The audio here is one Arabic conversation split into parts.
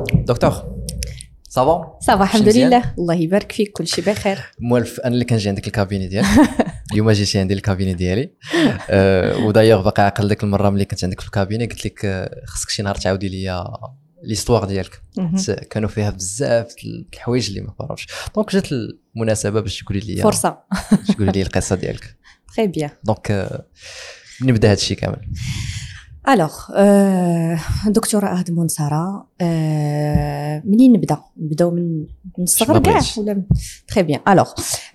دكتور صافا الحمد لله، الله يبارك فيك، كل شيء بخير. موالف انا اللي كنجي عندك الكابيني ديالك اليوم جيتي عندي الكابيني ديالي ودايوغ باقي عاقل ديك المره ملي كنت عندك في الكابيني قلت لك خصك شي نهار تعاودي لي ليستوار ديالك، كانوا فيها بزاف الحوايج اللي ما فهمتش. دونك جات المناسبه باش تقولي لي فرصه تقولي لي القصه ديالك. تري بيان. دونك نبدا هذا الشيء كامل. الوغ دكتوره أهدمون ساره، منين نبداو من الصغر كاع ولا تري بيان؟ الوغ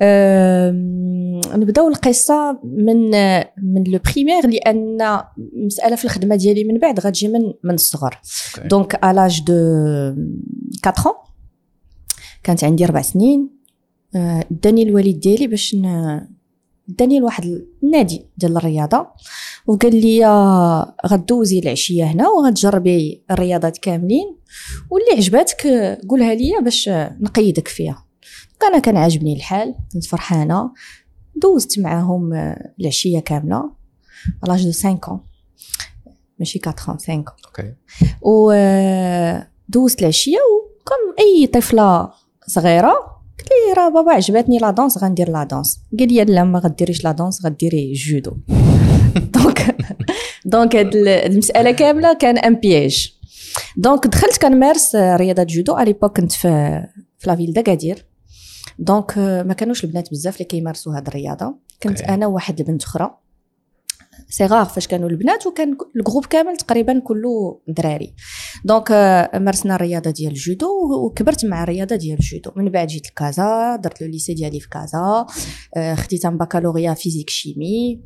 نبداو القصه من لو بريمير، لان مساله في الخدمه ديالي من بعد غتجي من الصغر. دونك à l'âge de 4 ans كانت عندي 4 سنين، داني الوالد ديالي باش داني لواحد النادي ديال الرياضه، وقال لي غدوزي العشيه هنا وغتجربي الرياضات كاملين، واللي عجباتك قولها لي باش نقيدك فيها. انا كان عاجبني الحال، كنت فرحانه، دوزت معاهم العشيه كامله على لاج دو 5 ans، ماشي 4 ans، 5 ans. اوكي. ودوزت العشيه وكم اي طفله صغيره قلت لي راه بابا عجبتني لا دانس، غندير لا دانس. قال لي لا ما غديريش لا دانس، غديري جودو. دونك هاد المساله كامله كان ان بياج. دونك دخلت كنمارس رياضه جودو. على ليبوك كنت في لا فيل داكادير، دونك ما كانوش البنات بزاف اللي كيمارسوا هاد الرياضه، كنت انا وواحد البنت اخرى. سي غار فاش كانوا البنات، وكان الجروب كامل تقريبا كله دراري. دونك مارسنا الرياضه ديال الجودو وكبرت مع الرياضه ديال الجودو. من بعد جيت لكازا، درت لو ليسي ديالي في كازا، خديت ان بكالوريا فيزيك شيمي،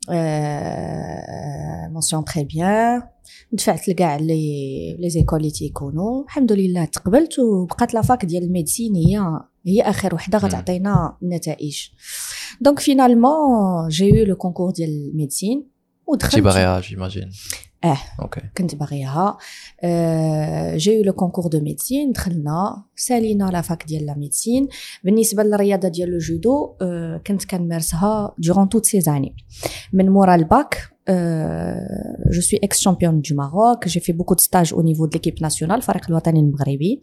مونسيون تري بيان، دفعت لكاع لي زيكول اللي تيكونوا، الحمد لله تقبلت، وبقات لا فاك ديال الميديسين هي اخر وحده غتعطينا النتائج. دونك فينالمون جي يو لو كونكور ديال الميديسين ودخلت. باغيها جيماجين؟ اوكي، كنت باغيها. جي لو كونكور دو ميديسين، دخلنا سالينا لا فاك ديال لا ميديسين. بالنسبه للرياضه ديال الجودو كنت كنمارسها durant toutes ces années. من مورا الباك je suis ex-championne du Maroc, j'ai fait beaucoup de stages au niveau de l'équipe nationale, الفريق الوطني المغربي.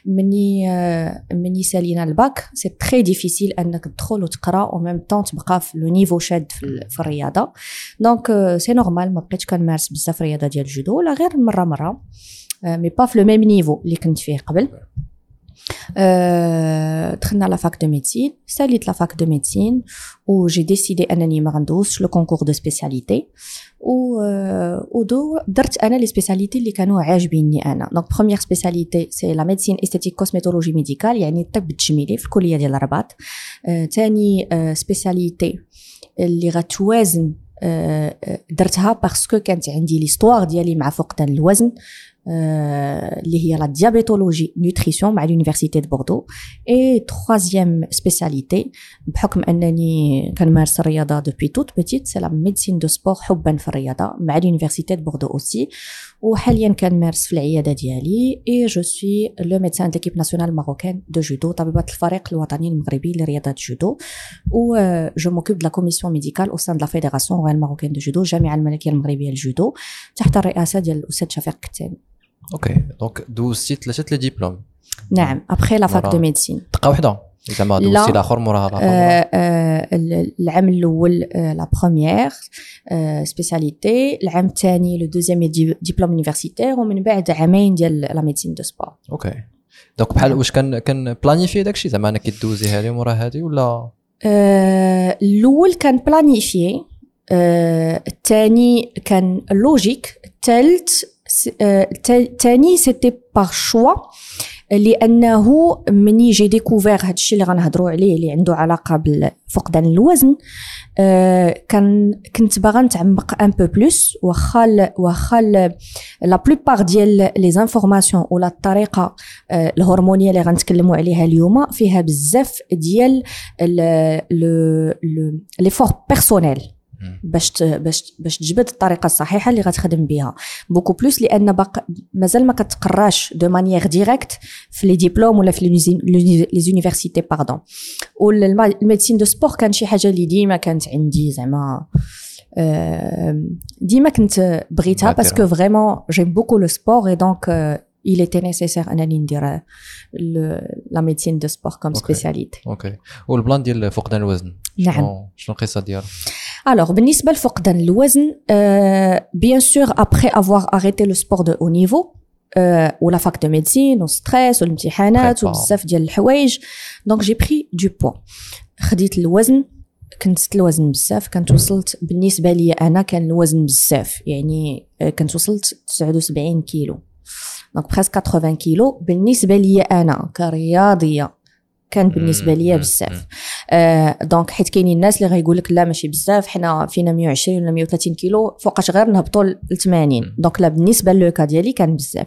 مني سالينا الباك سي تري ديفيسيل انك تدخل وتقرا او ميم طون تبقى في لو نيفو شاد في الرياضه. دونك سي نورمال ما بقيتش كنمارس بزاف الرياضه ديال الجودو، ولا غير مره مي با في لو ميم نيفو اللي كنت فيه قبل. دخلنا لا فاك دو ميديسين، ساليت لا فاك دو ميديسين، و جي ديسيدي انني ما غندوزش لو كونكور دو سبيسياليتي، و درت انا لي سبيسياليتي اللي كانوا عاجبيني انا. دونك بروميير سبيسياليتي سي لا ميديسين استيتيك كوسميتولوجي ميديكال، يعني الطب التجميلي في الكليه ديال الرباط. ثاني سبيسياليتي اللي غتوازن درتها باسكو كانت عندي ليستوار ديالي مع فقدان الوزن، اللي هي لا ديابيتولوجي نوتريسيون مع لونيفرسيتي دو بوردو. اي troisième سبيسياليتي بحكم انني كنمارس الرياضه دوبي توت بيتيت سي لا ميديسين دو سبور، حبا في الرياضه مع لونيفرسيتي دو بوردو اوسي. وحاليا كنمارس في العياده ديالي اي جو سوي لو ميدسان ديكيب ناسيونال ماروكان دو جودو، طبيبه الفريق الوطني المغربي لرياضه الجودو. و جو موكوب دو لا كوميسيون ميديكال او سان دو لا فيدراسيون رويال ماروكان دو جودو، الجامعه الملكيه المغربيه للجودو تحت الرئاسه ديال الاستاذ شفيق كتاني. اوكي. دونك دوزتي 3 لي ديبلوم؟ نعم، ابخي لا فاك دو ميديسين. دقه وحده زعما دوزتي الاخر موراها العام الاول لا بروميير سبيسياليتي، العام الثاني لو دوزيام ديبلوم يونيفرسيتير، ومن بعد عامين ديال لا ميديسين دو سبور. اوكي. دونك بحال واش كان بلانيفي داكشي زعما انا كدوزي هذه مورا هذه ولا؟ الاول كان بلانيفي، الثاني كان لوجيك، الثالث تاني سيتي باغ شوا، لانه مني جي ديكوفير هادشي اللي غنهضروا عليه اللي عنده علاقه بفقدان الوزن، كنت باغا نتعمق ان بو بلوس. واخا لا بلوبار ديال لي زانفورماسيون ولا الطريقه الهرمونيه اللي غنتكلموا عليها اليوم فيها بزاف ديال لي فور بيرسونيل باش تجبد الطريقه الصحيحه اللي غتخدم بها بوكو بلوس، لان مازال ما كتقراش دو مانيير ديريكت في لي ديبلوم ولا في لي زونيفرسيتي باردون. والميديسين دو سبور كان شي حاجه اللي ديما كانت عندي، زعما ديما كنت بغيتها باسكو فريمون جيم بوكو لو سبور، اي دونك il était nécessaire انني ندير la médecine de sport comme spécialité. اوكي والبلان ديال فقدان الوزن نعم شنو القصه ديالو؟ Alors, بالنسبة لفقدان الوزن, bien sûr, après avoir arrêté le sport de haut niveau, ou la fac de médecine, ou stress, ou l'imtihanat, ou بزاف ديال الحوايج, donc j'ai pris du poids. خديت الوزن, كنت زدت الوزن بزاف, كنت وصلت بالنسبة لي أنا كان الوزن بزاف, يعني كنت وصلت 79 كيلو, donc presque 80 كيلو بالنسبة لي أنا كرياضية. كان بالنسبه ليا بزاف دونك حيت كاينين الناس اللي غيقول لك لا ماشي بزاف حنا فينا 120 ولا 130 كيلو فوقاش غير نهبطوا ل 80 دونك لا بالنسبه للوكا ديالي كان بزاف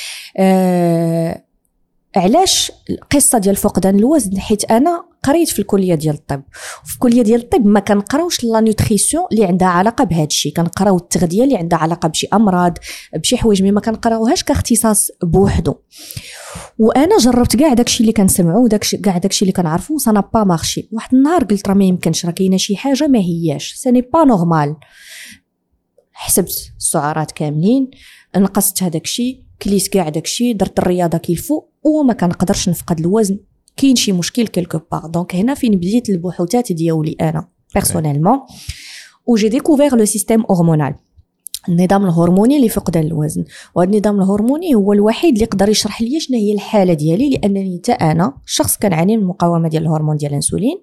علاش القصه ديال فقدان الوزن حيت انا قريت في الكليه ديال الطب وفي الكليه ديال الطب ما كنقراوش لا نوتريسيون اللي عندها علاقه بهذا الشيء كنقراو التغذيه اللي عندها علاقه بشي امراض بشي حوايج ما كنقراوهاش كاختصاص بوحدو وانا جربت كاع داكشي اللي كنسمعو كاع داكشي اللي كنعرفو سا با مارشي واحد النهار قلت راه ما يمكنش راه كاينه شي حاجه ما هياش سا ني با نورمال حسبت السعرات كاملين نقصت هذاك الشيء كليت كاع داكشي درت الرياضه كيفو وما كنقدرش نفقد الوزن كاين شي مشكل كيلكو بار دونك هنا فين بديت البحوثات ديالي انا بيرسونيلمون و جي ديكوفير لو سيستيم هرمونال النظام الهرموني لفقدان الوزن وهذا النظام الهرموني هو الوحيد اللي يقدر يشرح لي شنو هي الحاله ديالي لانني حتى انا شخص كنعاني من المقاومه ديال الهرمون ديال الانسولين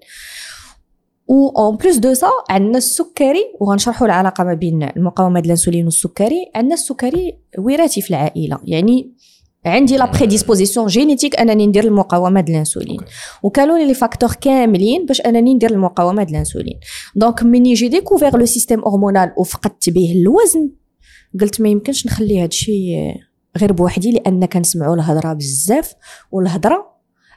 و اون بليس دو سا عندنا السكري وغنشرحوا العلاقه ما بين المقاومه ديال الانسولين والسكري عندنا السكري وراثي في العائله يعني عندي لا بريديسبوزيسيون جينيتيك انني ندير المقاومه ديال الانسولين وكانوا لي فاكتور كاملين باش انني ندير المقاومه ديال الانسولين دونك مني جي ديكوفير لو سيستيم هرمونال وفقدت به الوزن قلت ما يمكنش نخلي هذا الشيء غير بوحدي لان كنسمعوا الهضره بزاف والهضره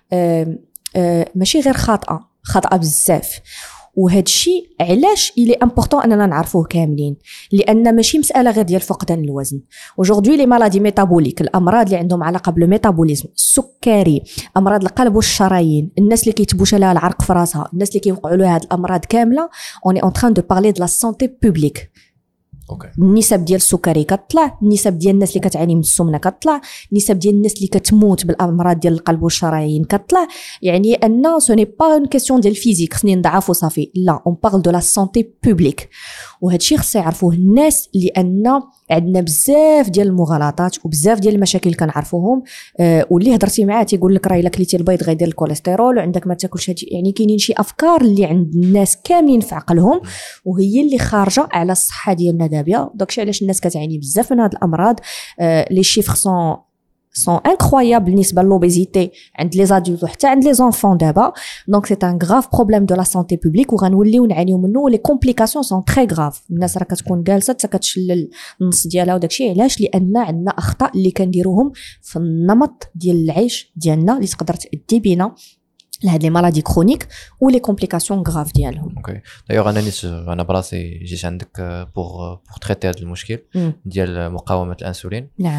ماشي غير خاطئه بزاف وهذا الشيء علاش إلي امبورطون اننا نعرفوه كاملين لان ماشي مساله غير ديال فقدان الوزن وجوردي لي مالادي ميتابوليك الامراض اللي عندهم علاقه بالميتابوليزم السكري امراض القلب والشرايين الناس اللي كيتبوش لها العرق في راسها الناس اللي كيوقعوا لها هذه الامراض كامله اوني اون تران دو بارلي دو لا سانتي بوبليك النسب ديال السكري كتطلع النسب ديال الناس اللي كتعاني من السمنه كتطلع النسب ديال الناس اللي كتموت بالامراض ديال القلب والشرايين كتطلع يعني ان سو ني با اون كيسيون ديال الفيزيك خصني نضعف وصافي لا اون بارل دو لا سانتي بوبليك وهذا الشيء خص يعرفوه الناس لان عندنا بزاف ديال المغالطات وبزاف ديال المشاكل اللي كنعرفوهم واللي هضرتي معاه تيقول لك راه الا كليتي البيض غيدير الكوليسترول وعندك ما تاكلش هادشي يعني كاينين شي افكار اللي عند الناس كاملين في عقلهم وهي اللي خارجه على الصحه ديالنا دابا داكشي علاش الناس كتعاني بزاف من هاد الامراض لي شيفر sont incroyables بالنسبه للوبيزيتي عند لي زادولت وحتى عند لي زونفون دابا دونك سي ان غراف بروبليم دو لا سانتي بوبليك وغنوليو نعانيو منه ولي كومبليكاسيون سون تري غراف الناس راه كتكون جالسه حتى كتشلل النص ديالها وداكشي علاش لان عندنا اخطاء اللي كنديروهم في النمط ديال العيش ديالنا اللي تقدر تؤدي بينا لهاد لي مالادي كرونيك ولي كومبليكاسيون غراف ديالهم اوكي دايوغ انا براسي جيت عندك بور تريتي هذا المشكل ديال مقاومه الانسولين نعم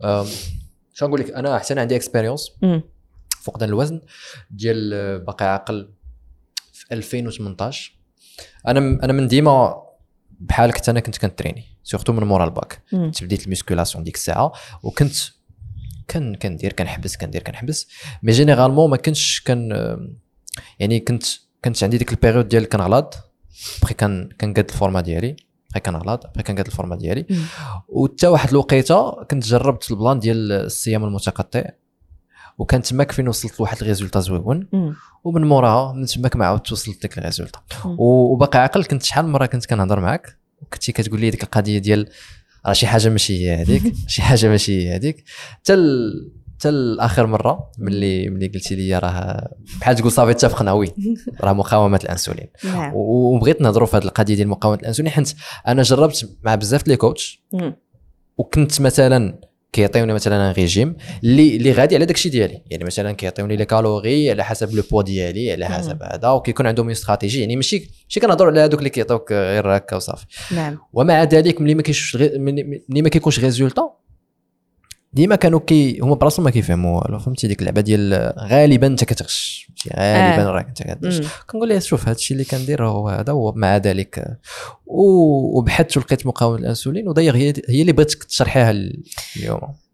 شنو نقول لك انا حتى عندي اكسبيريونس فقدان الوزن ديال باقي عاقل في 2018 انا من ديما بحالك حتى انا كنت كنتريني سورتو من مورا الباك بديت الميسكولاسيون ديك الساعه وكنت كندير كنحبس مي جينيرالمون ما كنتش يعني كنت عندي ديك البيريود ديال كنغلط بخي كنقاد الفورما ديالي كنغلط كنقاد الفورما ديالي وحتى واحد الوقيته كنت جربت البلان ديال الصيام المتقطع وكان تماك فين وصلت لواحد الريزولطا زويون ومن موراها من تماك ما عاودت وصلت لك الريزولطا وباقي عاقل كنت شحال من مره كنت كنهضر معاك وكنتي كتقول لي ديك القضيه ديال راه شي حاجه ماشي هي هذيك شي حاجه ماشي هي هذيك حتى الاخر مره ملي قلتي لي راه بحال تقول صافي اتفقنا وي راه مقاومه الانسولين وبغيت نهضروا في هذه القضيه ديال مقاومه الانسولين حيت انا جربت مع بزاف لي كوتش وكنت مثلا كيعطيوني مثلا ريجيم اللي غادي على داكشي ديالي يعني مثلا كيعطيوني لي كالوري على حسب لو بوا ديالي على حسب هذا وكيكون عندهم استراتيجي يعني ماشي كنهضروا على هذوك اللي كيعطيوك غير هكا وصافي نعم ومع ذلك ملي ما كيكونش ريزولطا ديما كانوا هما براسهم ما كيفهموا والو فهمتي ديك اللعبه ديال غالبا انت كتغش غالبا راك انت كدير كنقول ليه شوف هذا الشيء اللي كندير هو هذا ومع ذلك وبحثت ولقيت مقاومه الانسولين وداير هي اللي بغيتك تشرحيها اليوم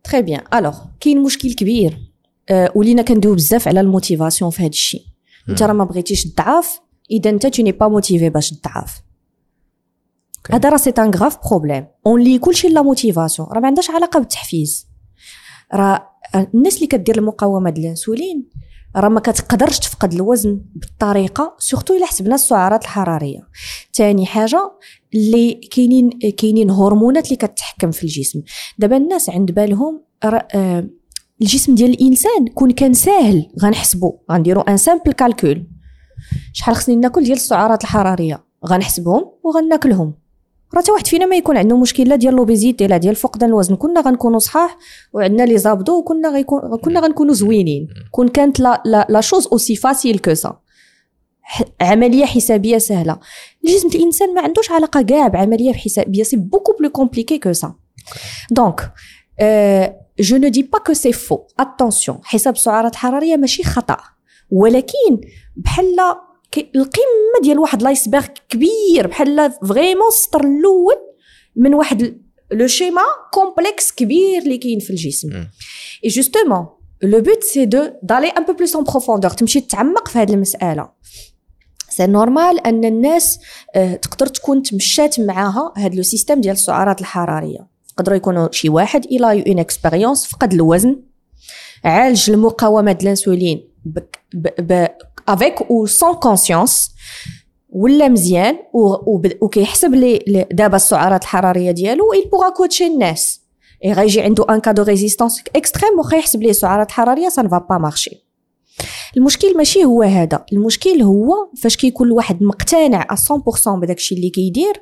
تري بيان. الوغ كاين مشكل كبير ولينا كندويو بزاف على الموتيفاسيون في هذا الشيء. انت راه ما بغيتيش تضعف اذا انت تو ني با موتيفي باش تضعف. هذا راه سي ان غراف بروبليم. اون لي كلشي لا موتيفاسيون راه ما عندهاش علاقه بالتحفيز. راه الناس اللي كدير المقاومه ديال الانسولين راه ما كتقدرش تفقد الوزن بالطريقه سورتو الا حسبنا السعرات الحراريه. ثاني حاجه اللي كاينين هرمونات اللي كتحكم في الجسم. دابا الناس عند بالهم الجسم ديال الانسان كان ساهل غنحسبوا غنديروا ان سامبل كالكول شحال خصني ناكل ديال السعرات الحراريه غنحسبهم وغناكلهم. راه حتى واحد فينا ما يكون عنده مشكل لا ديال لوبيزيتي لا ديال فقدان الوزن كنا غنكونوا صحاح وعندنا لي زابدو وكنا غنكونوا زوينين كانت لا شوز اوسي فاسيل كو سا. عمليه حسابيه سهله. الجسم الانسان ما عندوش علاقه كاع بعمليه حسابيه سي بوكو بلو كومبليكي كو سا. دونك جو نو دي با كو سي فو. اتونسيون حساب السعرات الحراريه ماشي خطا ولكن بحال القمه ديال واحد لايسبرغ كبير بحال فريمون السطر الاول من واحد لو شيما كومبلكس كبير اللي كاين في الجسم. اي جوستومون لو بوت سي دو دالي ان بو بلوس ان بروفوندور تمشي تتعمق في هذه المساله. سي نورمال ان الناس تقدر تكون تمشات معاها هذا لو سيستيم ديال السعرات الحراريه. يقدروا يكونوا شي واحد الى اون اكسبيريونس فقد الوزن عالج المقاومه ديال الانسولين avec ou sans conscience ولا مزيان وكيحسب لي دابا السعرات الحراريه ديالو il pourra coacher الناس غيجي عنده ان كادو ريزيستانس اكستريم وخيحسب ليه السعرات الحراريه سا نفا با مارشي. المشكل ماشي هو هذا. المشكل هو فاش كيكون الواحد مقتنع 100% بداك الشيء اللي كيدير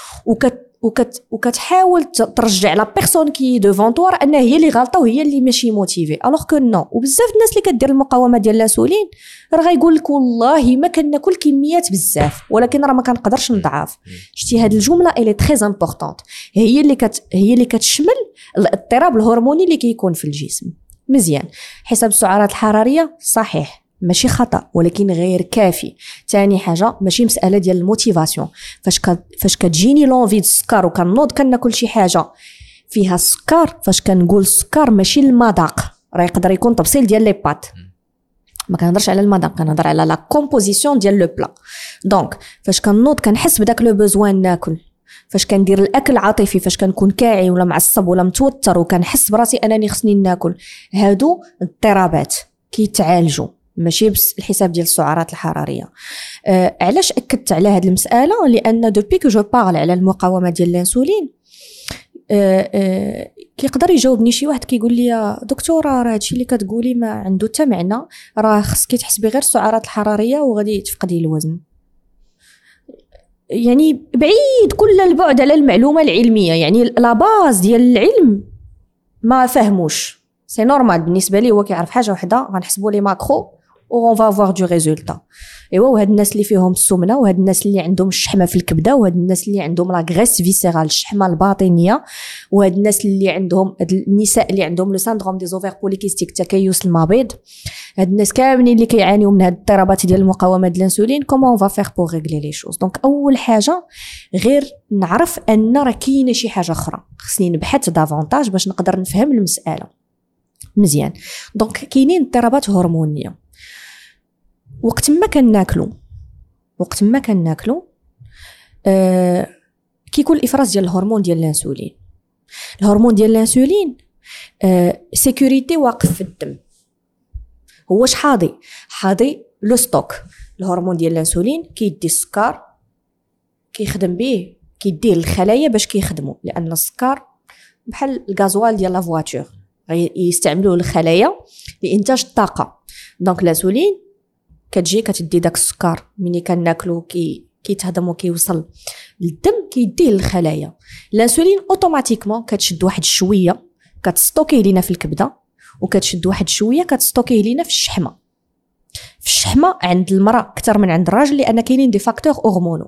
وكتحاول ترجع لا بيرسون كي دوفون طوار انها هي اللي غلطه وهي اللي ماشي موتيفي الوغ كو نو. وبزاف الناس اللي كدير المقاومه ديال الانسولين راه غايقول لك والله ما كناكل كميات بزاف ولكن راه ما كنقدرش نضعف. شتي هذه الجمله اي تري امبورطونط هي اللي كتشمل الاضطراب الهرموني اللي كيكون في الجسم. مزيان حساب السعرات الحراريه صحيح ماشي خطا ولكن غير كافي. ثاني حاجه ماشي مساله ديال الموتيفاسيون. فاش كتجيني لونفي السكر وكنوض كناكل شي حاجه فيها السكر. فاش كنقول السكر ماشي المذاق راه يقدر يكون تفصيل ديال لي بات ما كنهضرش على المذاق كنهضر على لا كومبوزيسيون ديال لو بلا. دونك فاش كنوض كنحس بداك لو بوزوان ناكل. فاش كندير الاكل عاطفي فاش كنكون كاعي ولا معصب ولا متوتر وكنحس براسي انني خصني ناكل هادو اضطرابات كيتعالجوا ماشي بس الحساب ديال السعرات الحراريه. علاش اكدت على هذه المساله؟ لان دوبي كو جو بارل على المقاومه ديال الانسولين كيقدر يجاوبني شي واحد كيقول لي يا دكتوره راه هادشي اللي كتقولي ما عنده حتى معنى راه خصك تحسبي غير السعرات الحراريه وغادي تفقدي الوزن. يعني بعيد كل البعد على المعلومه العلميه. يعني لا باز ديال العلم ما فهموش. سي نورمال بالنسبه لي هو كيعرف حاجه وحده غنحسبوا لي ماكرو و اون فا فوار دو ريزولتا. ايوا وهاد الناس اللي فيهم السمنه وهاد الناس اللي عندهم الشحمه في الكبده وهاد الناس اللي عندهم لا غريس فيسيرال الشحمه الباطنيه وهاد الناس اللي عندهم النساء اللي عندهم لو ساندروم دي زوفير بوليكيستيك تكيس المبيض هاد الناس كاملين اللي كيعانيو من هاد الاضطرابات ديال المقاومه ديال الانسولين كومون اون فا فير بور ريغلي لي شوز. دونك اول حاجه غير نعرف ان راه كاينه شي حاجه اخرى خصني نبحث دافونتاج باش نقدر نفهم المساله مزيان. دونك كاينين اضطرابات هرمونيه وقت ما كناكلو كيكون الافراز ديال الهرمون ديال الانسولين. الهرمون ديال الانسولين سيكوريتي واقف في الدم. هو حاضي لو ستوك. الهرمون ديال الانسولين كيدي السكر كيخدم به كيديه للخلايا باش كيخدموا لان السكر بحال الغازوال ديال لا فواتور يستعملوه الخلايا لانتاج الطاقه. دونك الانسولين كتجي كتدي داك السكر ملي كناكلو كيتهضم وكيوصل للدم كيديه للخلايا. الانسولين اوتوماتيكمون كتشد واحد شويه كتستوكيه لينا في الكبده وكتشد واحد شويه كتستوكيه لينا في الشحمه. في الشحمه عند المراه اكثر من عند الراجل لان كاينين دي فاكتور هرمونو.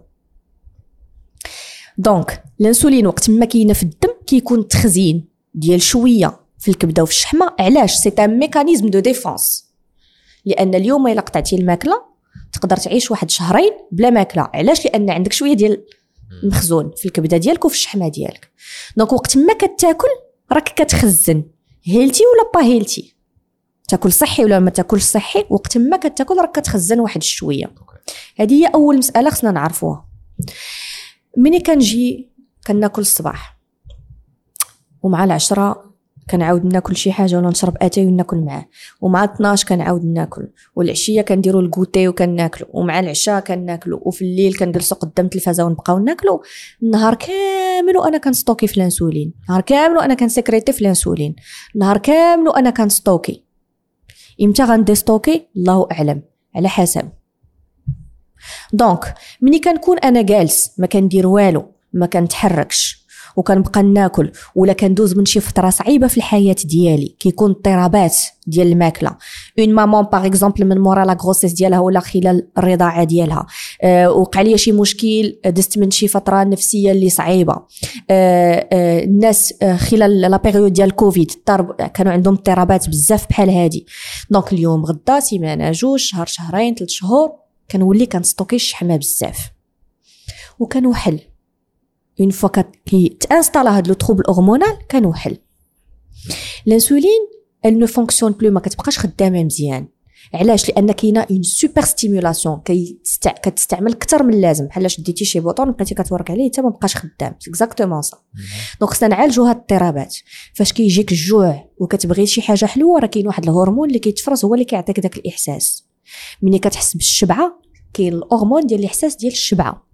دونك الانسولين وقت ما كاينه في الدم كيكون تخزين ديال شويه في الكبده وفي الشحمه. علاش؟ سي ان ميكانيزم دو ديفونس لان اليوم الا قطعتي الماكله تقدر تعيش واحد شهرين بلا ماكله. علاش؟ لان عندك شويه ديال مخزون في الكبده ديالك وفي الشحمه ديالك. دونك وقت ما كتاكل راك كتخزن هيلتي ولا با هيلتي، تاكل صحي ولا ما تاكلش صحي، وقت ما كتاكل راك كتخزن واحد الشويه. هذه هي اول مساله خصنا نعرفوها. ملي كنجي كناكل الصباح ومع العشرة كنعاود ناكل شي حاجه ولا نشرب اتاي وناكل معاه، ومع 12 كنعاود ناكل، والعشيه كنديروا الكوتي وكناكلوا، ومع العشاء كناكلوا، وفي الليل كنجلسوا قدام التلفازه ونبقاو ناكلوا. النهار كامل وانا كنستوكي في الانسولين، نهار كامل وانا كنسكريتي في الانسولين، نهار كامل وانا كنستوكي. امتى غنديستوكي الله اعلم، على حسب. دونك ملي كنكون انا جالس ما كندير والو، ما كنتحركش وكنبقى ناكل، ولا كندوز من شي فتره صعيبه في الحياه ديالي، كيكون اضطرابات ديال الماكله، اون مامون باغ اكزومبل من مورا لا غروسيس ديالها ولا خلال الرضاعه ديالها وقع لي شي مشكل، دزت من شي فتره نفسيه اللي صعيبه، الناس خلال لا بيريود ديال كوفيد كانوا عندهم اضطرابات بزاف بحال هادي. دونك اليوم غدا سيمانه جوج شهر شهرين 3 شهور كنولي كنستوكي الشحمه بزاف وكنوحل. اون فوا كي تانستالا هاد لو تروبل هرمونال كنوحل. الانسولين elle ne fonctionne plus، ما كتبقاش خدامه مزيان. علاش؟ لان كاينه اون سوبر ستيمولاسيون، كتستعمل اكثر من اللازم، بحال شديتي شي بوطون بقيتي كتورك عليه حتى ما بقاش خدام. اكزاكتومون صا. دونك خصنا نعالجوا هاد الاضطرابات. فاش كيجيك الجوع وكتبغي شي حاجه حلوه، راه كاين واحد الهرمون اللي كيتفرز هو اللي كيعطيك داك الاحساس. ملي كتحس بالشبعه كاين الهرمون ديال الاحساس ديال الشبعه،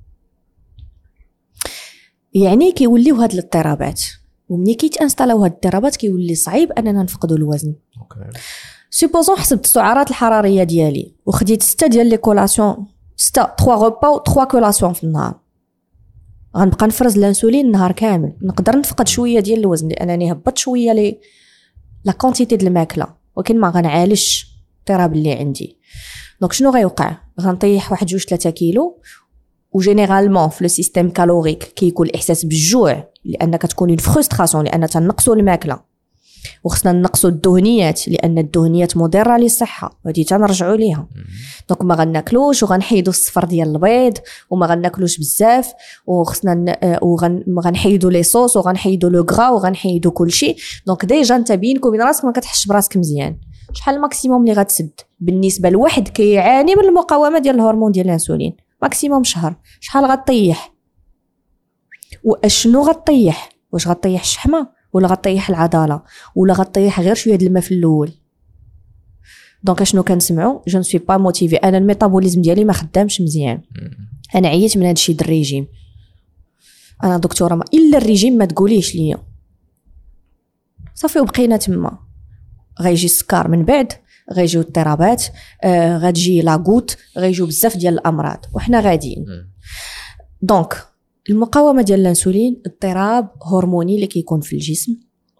يعني كيوليو هاد الاضطرابات. ومني كيتانستالاو هاد الاضطرابات كيولي صعيب اننا نفقدوا الوزن. سوبوزون حسبت السعرات الحراريه ديالي وخديت 6 ديال لي كولاسيون، 3 غوبا و 3 كولاسيون في النهار، غنبقى نفرز الانسولين النهار كامل. نقدر نفقد شويه ديال الوزن لانني هبطت شويه لي لا كونتيتي ديال الماكله، ولكن ما غنعالجش الاضطراب اللي عندي. دونك شنو غيوقع؟ غنطيح 1 2 3 كيلو. وجينيرالمون في لو سيستيم كالوريك كيكون الاحساس بالجوع، لان كتكون اون فرستراسيون، لان تنقصوا الماكله وخصنا نقصوا الدهنيات، لان الدهنيات مضره للصحه وهذه تنرجعوا ليها. دونك ما غناكلوش وغنحيدوا الصفر ديال البيض وما غناكلوش بزاف، وخصنا غنحيدوا لي صوص وغنحيدوا لو غرا وغنحيدوا كلشي. دونك ديجا انت بينك وبين راسك ما كتحسش براسك مزيان. شحال الماكسيموم اللي غتسد بالنسبه لواحد كيعاني من المقاومه ديال الهرمون ديال الانسولين؟ ماكسيموم شهر. شحال غطيح؟ واشنو غطيح؟ واش غطيح الشحمه ولا غطيح العضله ولا غطيح غير شويه د الماء في الاول؟ دونك اشنو كنسمعوا؟ جو نسوي با موتيفي، انا الميتابوليزم ديالي ما خدامش مزيان، انا عييت من هذا الشيء د الريجيم، انا دكتوره ما الا الريجيم ما تقوليش ليا صافي. وبقينا تما، غيجي السكر من بعد، غيجيو اضطرابات، غتجي لاغوت، غيجيو بزاف ديال الامراض وحنا غاديين. دونك المقاومه ديال الانسولين اضطراب هرموني اللي كيكون في الجسم.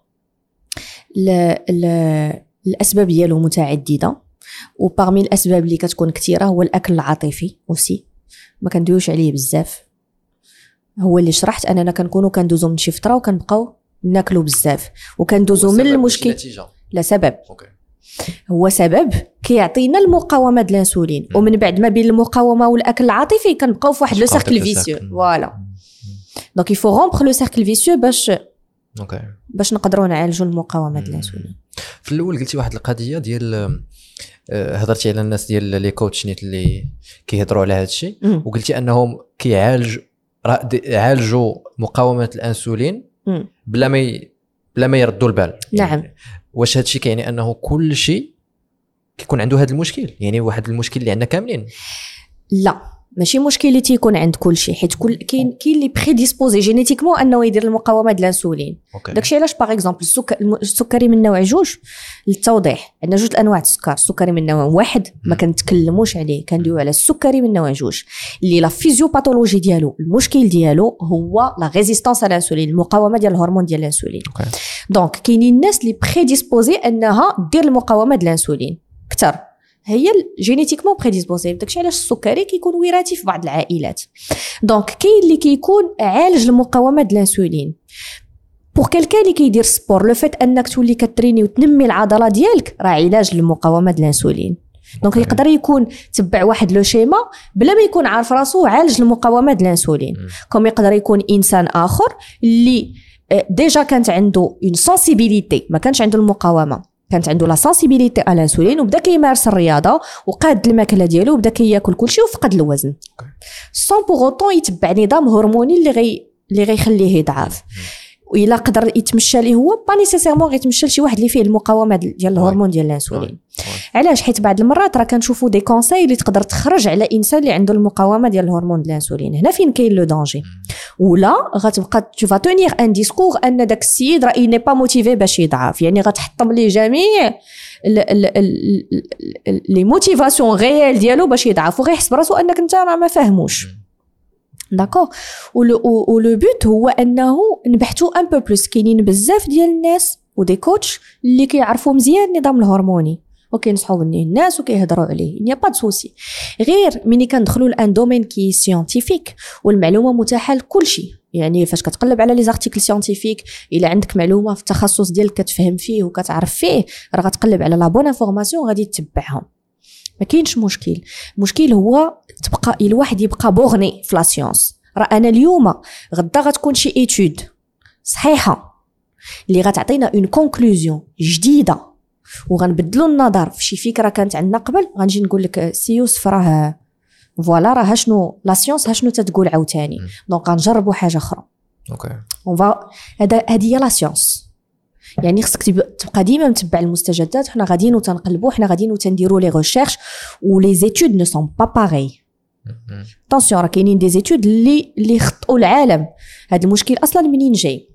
الاسباب ديالو متعدده، وبارمي الاسباب اللي كتكون كثيره هو الاكل العاطفي اوسي، ما كندويوش عليه بزاف. هو اللي شرحت اننا كنكونوا كندوزو من شي فتره وكنبقاو ناكلوا بزاف وكندوزو من المشكل. لا سبب. هو سبب كيعطينا المقاومه ديال الانسولين، ومن بعد ما بين المقاومه والاكل العاطفي كنبقاو في واحد لو سيركل فيسيو. فوالا. دونك يفو رومبر لو سيركل فيسيو باش نقدروا نعالجوا المقاومه ديال الانسولين. في الاول قلتي واحد القضيه ديال هضرتي على الناس ديال لي كوتش نيت اللي كيهضروا على هذا الشيء، وقلتي انهم عالجوا مقاومه الانسولين بلا ما يردوا البال. نعم. يعني واش هذا الشيء كيعني انه كل شيء كيكون عنده هذا المشكل؟ يعني واحد المشكل اللي عندنا كاملين؟ لا، ماشي مشكل اللي تيكون عند كل شيء، حيت كاين اللي بريديسبوزي جينيتيكمون انه يدير المقاومه ديال الانسولين. داكشي علاش باغ اكزومبل السكري من نوع 2، للتوضيح عندنا 2 انواع السكر. السكري من نوع 1 ما كنتكلموش عليه، كندويو على السكري من نوع 2 اللي لا فيزيوباثولوجي ديالو المشكل ديالو هو لا ريزيستانس على الانسولين، المقاومه ديال الهرمون ديال الانسولين. دونك كاينين الناس اللي بريديسبوزي انها دير المقاومه ديال الانسولين اكثر، هي جينيتيكمون بريديسبوزي. داكشي علاش السكري كيكون وراثي في بعض العائلات. دونك كاين اللي كيكون عالج المقاومه ديال الانسولين. بور كالكان اللي كيدير سبور، لو فيت انك تولي كتريني وتنمي العضله ديالك راه علاج للمقاومه ديال الانسولين. دونك يقدر يكون تبع واحد لو شيما بلا ما يكون عارف راسو عالج المقاومه ديال الانسولين. كوم يقدر يكون انسان اخر اللي ديجا كانت عنده اون سنسيبيليتي، ما كانش عنده المقاومه، كانت عنده لا سنسيبيليتي على الانسولين، وبدا كيمارس الرياضه وقاد الماكله ديالو وبدا كياكل كلشي وفقد الوزن سون بوغوطون يتبع نظام هرموني اللي غيخليه يضعف. وإلا قدر يتمشى ليه هو با نيسيسيرمون غيتمشى لشي واحد اللي فيه المقاومه ديال الهرمون ديال الانسولين. علاش؟ حيت بعض المرات راه كنشوفوا دي كونساي اللي تقدر تخرج على انسان اللي عنده المقاومه ديال الهرمون ديال الانسولين. هنا فين كاين لو دانجي. ولا غتبقى تو فا تونير ان ديسكور ان داك السيد راه ني با موتيفي باش يضعف، يعني غتحطم ليه جميع لي موتيفاسيون ريال ديالو باش يضعف، وغيحس براسو انك انت راه ما فاهموش. داكور. و لو بوت هو انه نبحثوا ان بو بلوس. كاينين بزاف ديال الناس ودي كوتش اللي كيعرفوا مزيان النظام الهرموني وكينصحوا الناس وكيهضروا عليه، ني با دو سوسي. غير ملي كندخلوا لان دومين كي سيانتيفيك والمعلومه متاحه لكل شيء، يعني فاش كتقلب على لي زارتيكل سيانتيفيك الا عندك معلومه في التخصص ديالك كتفهم فيه وكتعرف فيه، راه غتقلب على لا بون انفورماسيون غادي تتبعهم، ما كاينش مشكل. المشكل هو تبقى الواحد يبقى بوغني في لا سيونس. راه انا اليوم غدا غتكون شي ايتود صحيحه اللي غتعطينا اون كونكلوزيون جديده وغنبدلوا النظر في شي فكره كانت عندنا قبل، غنجي نقول لك سي يوسف راه فوالا راه شنو لا سيونس شنو تتقول عاوتاني، دونك غنجربوا حاجه اخرى. اوكي اون فا هذه هي لا سيونس. يعني خصك تبقى ديما متبع المستجدات. حنا غاديين وتنقلبوا، حنا غاديين وتنديروا لي ريشيرش و لي زيتود نو سون با باغي. طونسيون راه كاينين دي زيتود اللي خطئوا العالم. هذا المشكل اصلا منين جاي؟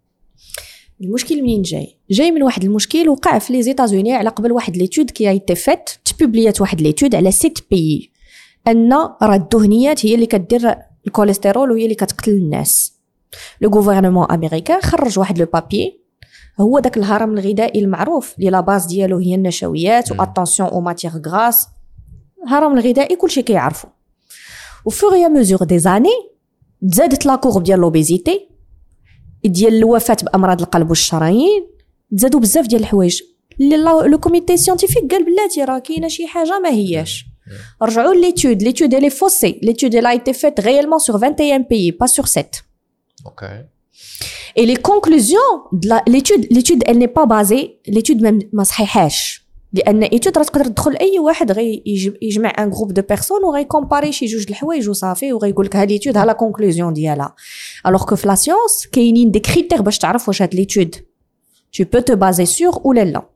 المشكل منين جاي من واحد المشكل وقع في لي زيتازوني على قبل واحد ليتود كي ايتي فات تبوبليات واحد ليتود على 6 بيي ان راه الدهنيات هي اللي كدير الكوليسترول وهي اللي كتقتل الناس. لو غوفرنمون امريكان خرج واحد لو بابي، هو داك الهرم الغذائي المعروف اللي لا باز ديالو هي النشويات واتونسيون او ماتيغ غراس. الهرم الغذائي كلشي كيعرفو. وفور يا ميزور دي زاني تزادت لا كورب ديال لوبيزيتي، ديال الوفاه بامراض القلب والشرايين، تزادوا بزاف ديال الحوايج. لو كوميتي سيانتيفيك قال بلاتي راه كاينه شي حاجه ما هياش. رجعوا ليتود اللي فوسي، ليتود اللي ايتي فات غيالمون سور 21 بيي با سور 7. اوكي. Et les conclusions de l'étude elle n'est pas basée, l'étude ما صحيحاش، لان ايتود راه تقدر تدخل اي واحد غي يجمع ان جروب دو بيرسون وغي كومباري شي جوج د الحوايج وصافي وغيقول لك هاد ليتود ها لا كونكلوزيون ديالها. الوغ كو في لا سيونس كاينين دي كريتير باش تعرف واش هاد ليتود tu peux te baser sur ولا لا.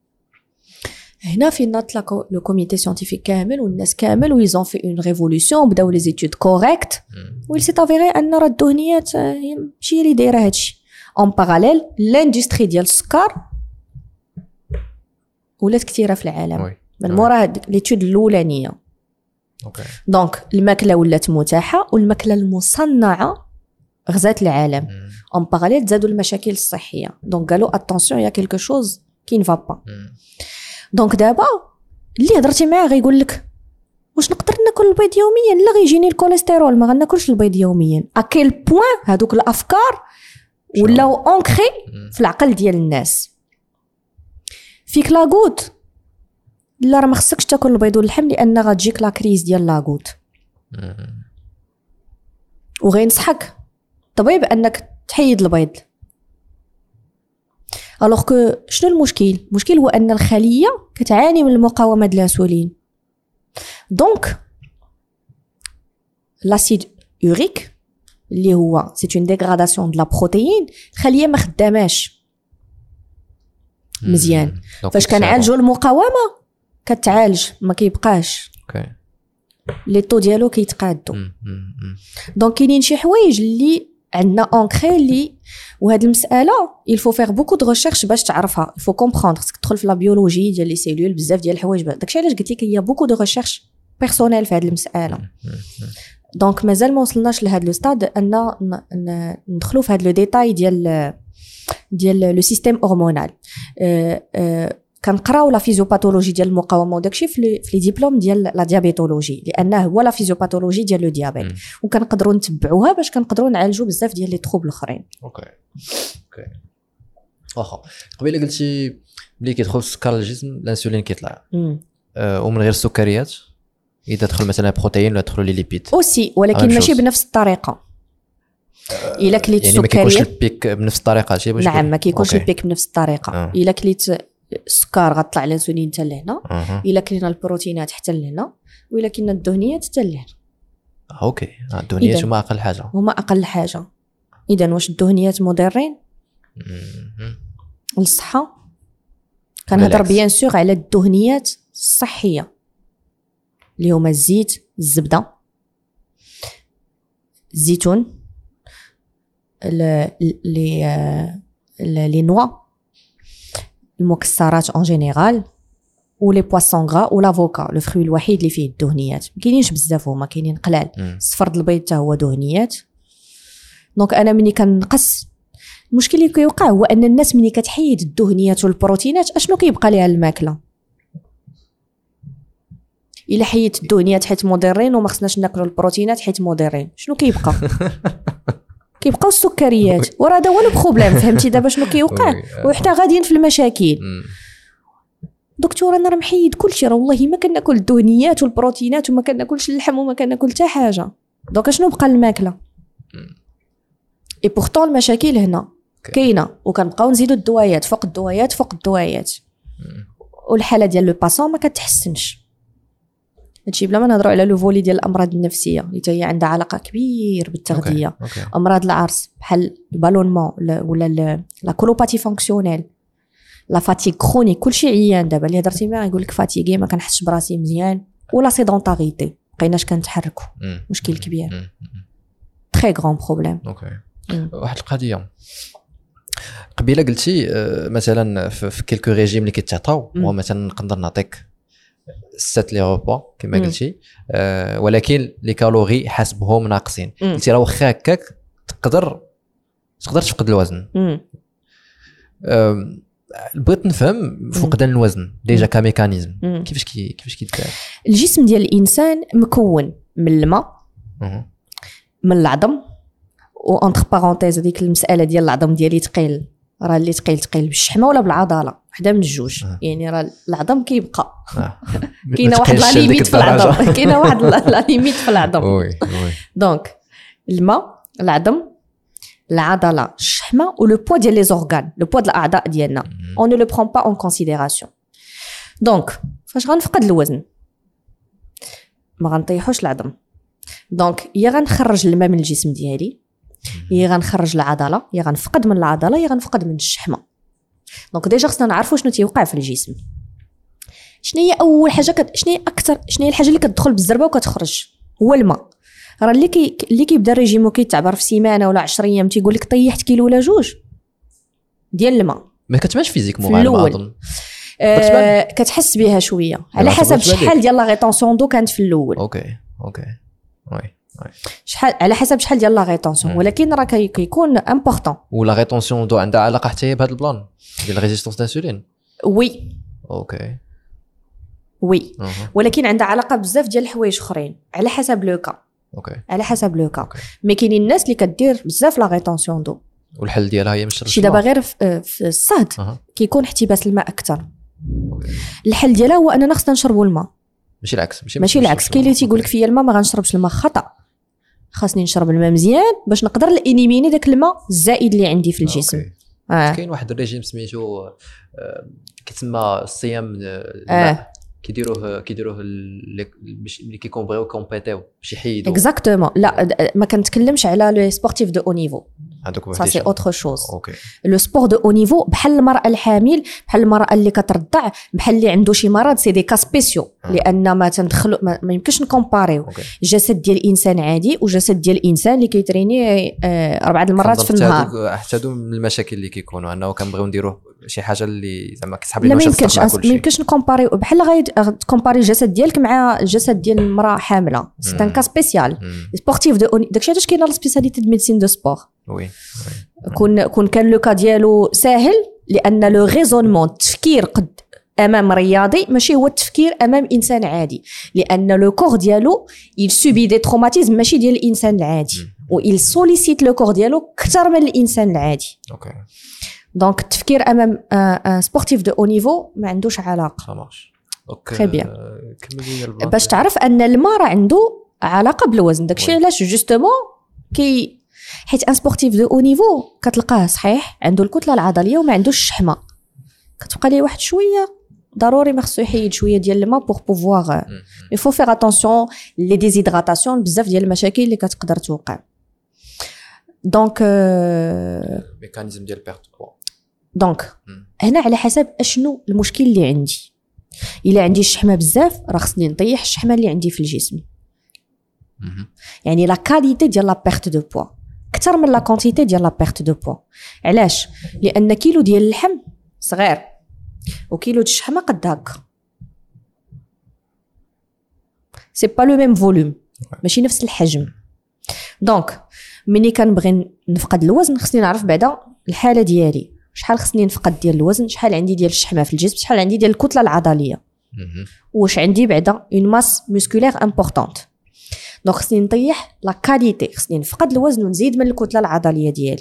هنا فين نطلق لو كوميتي سيانتيفيك كامل والناس كامل ويزون في اون ريفولوسيون بداو لي زيتود كوريكت ويل سي افيري ان راه الدهنيات ماشي اللي دايره هادشي. اون باراليل لاندستري ديال السكر ولات كثيره في العالم من مورا هاد ليتود الاولانيه. اوكي. دونك الماكله ولات متاحه والماكله المصنعه غزات العالم. اون باراليل زادوا المشاكل الصحيه، دونك قالوا اتونسيون يا كيلكو شوز كي نفا با. دونك دابا اللي هضرتي معاه غيقول لك واش نقدر ناكل البيض يوميا؟ لا غيجيني الكوليسترول ما غناكلش البيض يوميا. اكيل بوين هذوك الافكار ولاو اونكري في العقل ديال الناس. فيك لاغوت لا راه ما خصكش تاكل البيض واللحم لان غتجيك لا كريز ديال لاغوت. وغينصحك طبيب انك تحيد البيض. الوغ كو شنو المشكل؟ المشكل هو ان الخليه كتعاني من المقاومه ديال الانسولين. دونك لاسيد يوريك اللي هو سي اون ديغراداسيون دو لا بروتيين، الخليه ما خداماش مزيان. فاش كنعالجوا المقاومه كتعالج ما كيبقاش اوكي لي طو ديالو كيتقادوا. دونك كاينين شي حوايج اللي عندنا اونكري اللي وهاد المساله il faut faire beaucoup de recherche باش تعرفها. il faut comprendre خصك تدخل في لا بيولوجي ديال لي سيلول بزاف ديال الحوايج. داكشي علاش قلت لك هي beaucoup de recherche بيرسونيل في هاد المساله. دونك مازال ما وصلناش لهاد لو ستاد ان ندخلوا في هاد لو ديتاي ديال لو سيستيم هرمونال. كنقراو لا فيزيوباثولوجي ديال المقاومه وداكشي في لي ديبلوم ديال لا ديابيتولوجي لانه هو لا فيزيوباثولوجي ديال لو ديابيت وكنقدروا نتبعوها باش كنقدروا نعالجوا بزاف ديال لي تروبل الاخرين. اوكي واخا قبيله قلتي ملي كيدخل السكر للجسم الانسولين كيطلع ومن غير السكريات اذا دخل مثلا بروتين ولا دخلوا لي ليبيد اوسي ولكن ماشي بنفس الطريقه. الا كليت يعني ما كيكونش السكريات البيك بنفس الطريقه شي باش نعم ما كيكونش أوكي. البيك بنفس الطريقه الا كليت السكر غطلع الانسولين حتى لهنا الا كلينا البروتينات حتى لهنا والا كلينا الدهنيات حتى لهنا اوكي الدهنيات هما اقل حاجه هما اقل حاجه اذا واش الدهنيات مضرين للصحه كنهضر بيان سور على الدهنيات الصحيه اللي هما الزيت الزبده الزيتون لي نوا المكسرات اون جينيرال ولي بواسون غرا والافوكا لو فروي الوحيد اللي فيه الدهنيات ما كاينينش بزاف هما كاينين قلال صفر البيض حتى هو دهنيات دونك انا ملي كنقص المشكل اللي كيوقع هو ان الناس ملي كتحيد الدهنيات والبروتينات اشنو كيبقى ليها الماكله الا حيدت الدهنيات حيت مضرين وما خصناش ناكلوا البروتينات حيت مضرين شنو كيبقى كيبقاو السكريات وراه هذا هو البروبليم فهمتي دابا شنو كيوقع وحنا غاديين في المشاكل دكتور انا راه محيد كلشي راه والله ما كناكل الدهنيات والبروتينات وما كناكلش اللحم وما كناكل حتى حاجه دونك شنو بقى الماكله اي بورطون المشاكل هنا كاينه وكنبقاو نزيدوا الدوايات فوق الدوايات فوق الدوايات والحاله ديال لو باسون ما كتحسنش هادشي بلا ما نهضروا على لو فولي ديال الامراض النفسيه اللي هي عندها علاقه كبير بالتغذيه امراض العرس بحال البالونمون ولا لا كولوباتي فونكسيونيل لا فاتيغ كرونيك كلشي عيان دابا اللي هضرتي معاه يقول لك فاتيغي ما كنحسش براسي مزيان ولا سيدونتاريتي بقيناش كنتحركوا مشكل كبير تري غران بروبليم واحد القضيه قبيله قلتي مثلا في كيلكو ريجيم اللي كيتعطاو هو مثلا نقدر نعطيك 7 لي روبا كما قلتي ولكن لي كالوري حسبهم ناقصين قلتي راه واخا هكاك تقدر تفقد الوزن بغيت نفهم فقدان الوزن ديجا كميكانيزم كيفاش كيتفاعل الجسم ديال الانسان مكون من الماء من العظم وانتر بارونتيز هذيك المساله ديال العظم ديالي ثقيل راه اللي ثقيل بالشحمه ولا بالعضله وحده من الجوج يعني راه العظم كيبقى كاينه واحد لا ليميت في العظم كاينه واحد لا ليميت في العظم دونك الماء العظم العضله الشحمه ولو بوا ديال لي زورغان لو بوا ديال الاعضاء ديالنا اون نو لو برون با اون كونسيديراسيون دونك فاش غنفقد الوزن ما غنطيحوش العظم دونك يا غنخرج الماء من الجسم ديالي يا غنخرج العضله يا غنفقد من العضله يا غنفقد من الشحمه دونك ديجا خصنا نعرفوا شنو تيوقع في الجسم شنو هي اول حاجه شنو هي الحاجه اللي كتدخل بالزربه وكتخرج هو الماء راه اللي كيبدا الريجيم وكيتعبر في سيمانه ولا 10 ايام تيقول لك طيحت كيلو ولا جوج ديال الماء ما كتبانش فيزيكمون غالبا كتحس بها شويه على حسب شحال ديال لا ريتونسيون دو كانت في الاول اوكي وي شحال على حسب شحال ديال لا ريتونسيون ولكن راه كيكون امبورطون ولا ريتونسيون دو عندها علاقه حتى هي بهذا البلان ديال ريزيستونس دانسولين وي وي ولكن عندها علاقه بزاف ديال الحوايج اخرين على حسب لو كا على حسب لو كا مي كاينين الناس اللي كدير بزاف لا ريتونسيون دو والحل ديالها هي مش شي دابا غير في الصهد كيكون احتباس الماء اكثر الحل ديالها هو اننا خصنا نشربوا الماء ماشي العكس كاين اللي تيقول لك فيا الماء ما غنشربش الماء خطا خاصني نشرب الماء مزيان باش نقدر الانيميني داك الماء الزائد اللي عندي في الجسم كاين واحد الريجيم سميتو كيتسمى الصيام الماء كيديروه اللي كيكونبغيو كومبيتيو باش يحيدوا اكزاكتومون لا ما كنتكلمش على لو سبورتيف دو او نيفو ça c'est autre chose لو سبور دو او نيفو بحال المراه الحامل بحال المراه اللي كترضع بحال اللي عنده شي مرض سي دي كا سبيسيو لان ما تندخلوا ما يمكنش نكومباريو جسد ديال الانسان عادي وجسد ديال الانسان اللي كيتريني 4 المرات في النهار حتى هادو من المشاكل اللي كيكونوا انه كنبغيو نديروه شي حاجه اللي زعما كيسحب لنا ما يمكنش نكومباريو بحال غتكومباري الجسد ديالك مع الجسد ديال المراه حامله سي ان كا سبيسيال سبورتيف دو داكشي علاش كاينه لا سبيسياليتي دو ميديسين دو سبور وي كون كان لو كا ديالو ساهل لان لو ريزونمون التفكير قد امام رياضي ماشي هو التفكير امام انسان عادي لان لو كور ديالو il subit des traumatismes ماشي ديال الانسان العادي و il sollicite لو كور ديالو اكثر من الانسان العادي دونك التفكير امام ان سبورتيف دو او نيفو ما عندوش علاقه تري بيان باش تعرف ان الماء راه عنده علاقه بالوزن داكشي علاش جوستومون حيت ان سبورتيف دو او نيفو كتلقاه صحيح عنده الكتله العضليه وما عندوش الشحمه، كتبقى ليه واحد شويه ضروري ما خصو يحيد شويه ديال الماء بوغ بوفوار يفو فيغ اتونسيون لي ديزيدراتاسيون، بزاف ديال المشاكل اللي كتقدر توقع. دونك ميكانيزم ديال بيرت بوا. دونك هنا على حسب اشنو المشكل اللي عندي. الا عندي الشحمه بزاف راه خصني نطيح الشحمه اللي عندي في الجسم. يعني لا كاليتي ديال لا بيرت دو بوا اكثر من لا كونتيتي ديال لا بيرت دو بوا. علاش؟ لان كيلو ديال اللحم صغير وكيلو ديال الشحمه قد هكا، سي با لو ميم فوليوم، ماشي نفس الحجم. دونك ملي كنبغي نفقد الوزن خصني نعرف بعدا الحاله ديالي، شحال خصني نفقد ديال الوزن، شحال عندي ديال الشحمه في الجسم، شحال عندي ديال الكتله العضليه، واش عندي بعدا اون ماس موسكولير امبورطونط. دونك خصني نطيح لا كاليتي، خصني نفقد الوزن ونزيد من الكتله العضليه ديالي.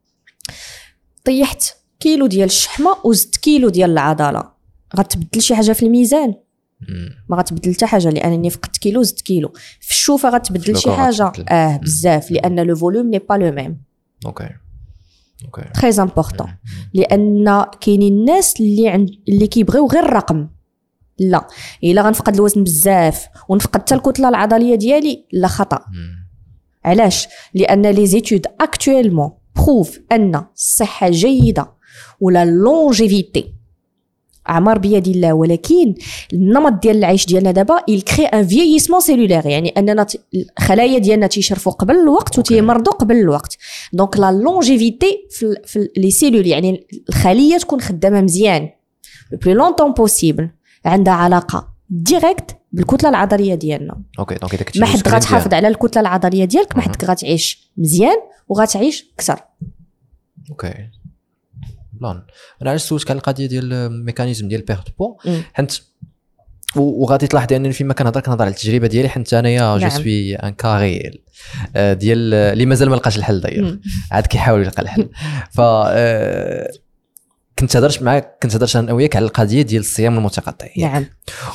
طيحت كيلو ديال الشحمه وزدت كيلو ديال العضله، غتبدل شي حاجه في الميزان؟ ما غتبدل حتى حاجه، لانني فقدت كيلو زدت كيلو. في الشوفه غتبدل شي حاجه؟ بزاف، لان لو فوليوم ني با لو ميم. اوكي تري امبورطون، لان كاينين الناس اللي كيبغيو غير الرقم. لا، الا غنفقد الوزن بزاف ونفقد حتى الكتله العضليه ديالي، لا خطا. علاش؟ لان لي زيتود اكطويلمون بروف ان الصحه جيده ولا لونجيفيتي اعمار بيد الله، ولكن النمط ديال العيش ديالنا دابا il crée un vieillissement cellulaire، يعني اننا الخلايا ديالنا تيشرفوا قبل الوقت وتيمرضوا قبل الوقت. دونك لا لونجيفيتي في لي سيلول، يعني الخليه تكون خدامه مزيان لو بلو لونطون بوسيبل، عندها علاقه ديريكت بالكتله العضليه ديالنا. اوكي دونك اذا كنتي ما حد غتحافظ على الكتله العضليه ديالك، ما حد غتعيش مزيان وغتعيش اكثر. اوكي بلان. انا علاش سولتك على القضيه ديال الميكانيزم ديال بيرت بو، حيت وغادي تلاحظي انني فيما كنهضر على التجربه ديالي، حيت انايا جو سوي ان كاريل ديال اللي مازال ما لقاش الحل داير، عاد كيحاول يلقى الحل. ف كنت هضرت انا وياك على القضيه ديال الصيام المتقطع. نعم.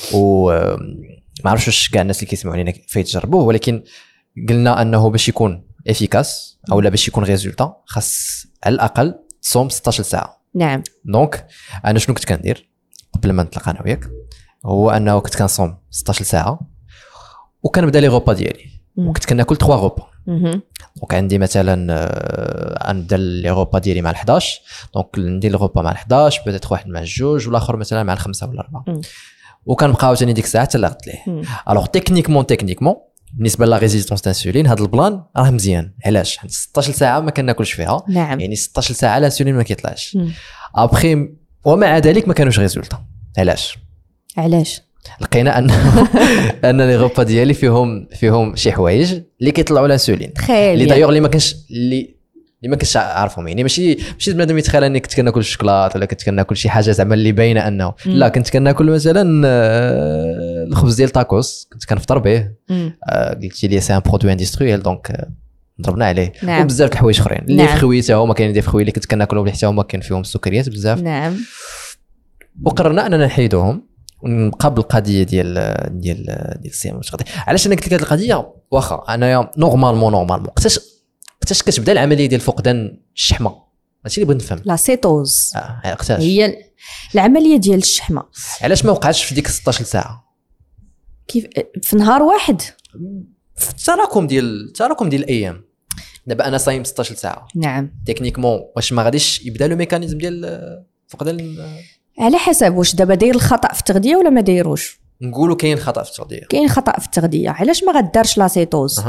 ما عرفتش واش كاع الناس اللي كيسمعوني فيتجربوه، ولكن قلنا انه باش يكون افيكاس او لا باش يكون ريزولتا خاص على الاقل تصوم 16 ساعه. نعم. دونك انا شنو كنت كندير قبل ما نتلاقى انا وياك، هو انه كنت كنصوم 16 ساعه وكنبدا لي غوبا ديالي، وكنت كناكل 3 غوبا. دونك عندي مثلا نبدا لي غوبا ديالي مع 11، دونك ندير الغوبا مع 11 بدات واحد مع 2 والاخر مثلا مع 5 ولا 4، وكنبقاو ثاني ديك الساعه حتى لا غدت ليه. الوغ تكنيكمون بالنسبه لا ريزيستونس انسولين هذا البلان راه مزيان. علاش؟ 16 ساعه ما كناكلش فيها. نعم. يعني 16 ساعه الانسولين ما كيطلعش. ابخي ومع ذلك ما كانوش ريزولتا. علاش؟ لقينا ان لي غوبا ديالي فيهم شي حوايج اللي كيطلعوا الانسولين، اللي دايوغ اللي ما كنتش عارفهم. يعني ماشي بنادم يتخيل اني كنت كناكل الشوكولات ولا كنت كناكل شي حاجه زعما اللي باينه انه لا، كنت كناكل مثلا الخبز ديال تاكوس كنت كنفطر به. قلتي لي سي ان برودوي اندستريال، دونك ضربنا عليه. نعم. وبزاف د الحوايج اخرين اللي في خويته هما كاينين دي فخوي اللي كنت كناكلهم اللي حتى هما كاين فيهم السكريات بزاف. نعم. وقررنا اننا نحيدوهم ونبقى بالقضيه ديال الصيام المتقطع. علاش انا قلت لك هذه القضيه؟ واخا انايا نورمالمون وقتاش كتبدا العمليه ديال فقدان الشحمه؟ هادشي اللي بغيت نفهم. لا سيتوز وقتاش هي العمليه ديال الشحمه؟ علاش ما وقعتش في ديك 16 ساعه؟ كيف في نهار واحد؟ في التراكم ديال الايام. دابا انا صايم 16 ساعه. نعم. تكنيكمون واش ما غاديش يبدا لو ميكانيزم ديال فقدان؟ على حسب واش دابا داير الخطا في التغذيه ولا ما دايروش. نقولوا كاين خطا في التغذيه. كاين خطا في التغذيه. علاش ما غدارش لا سيتوز؟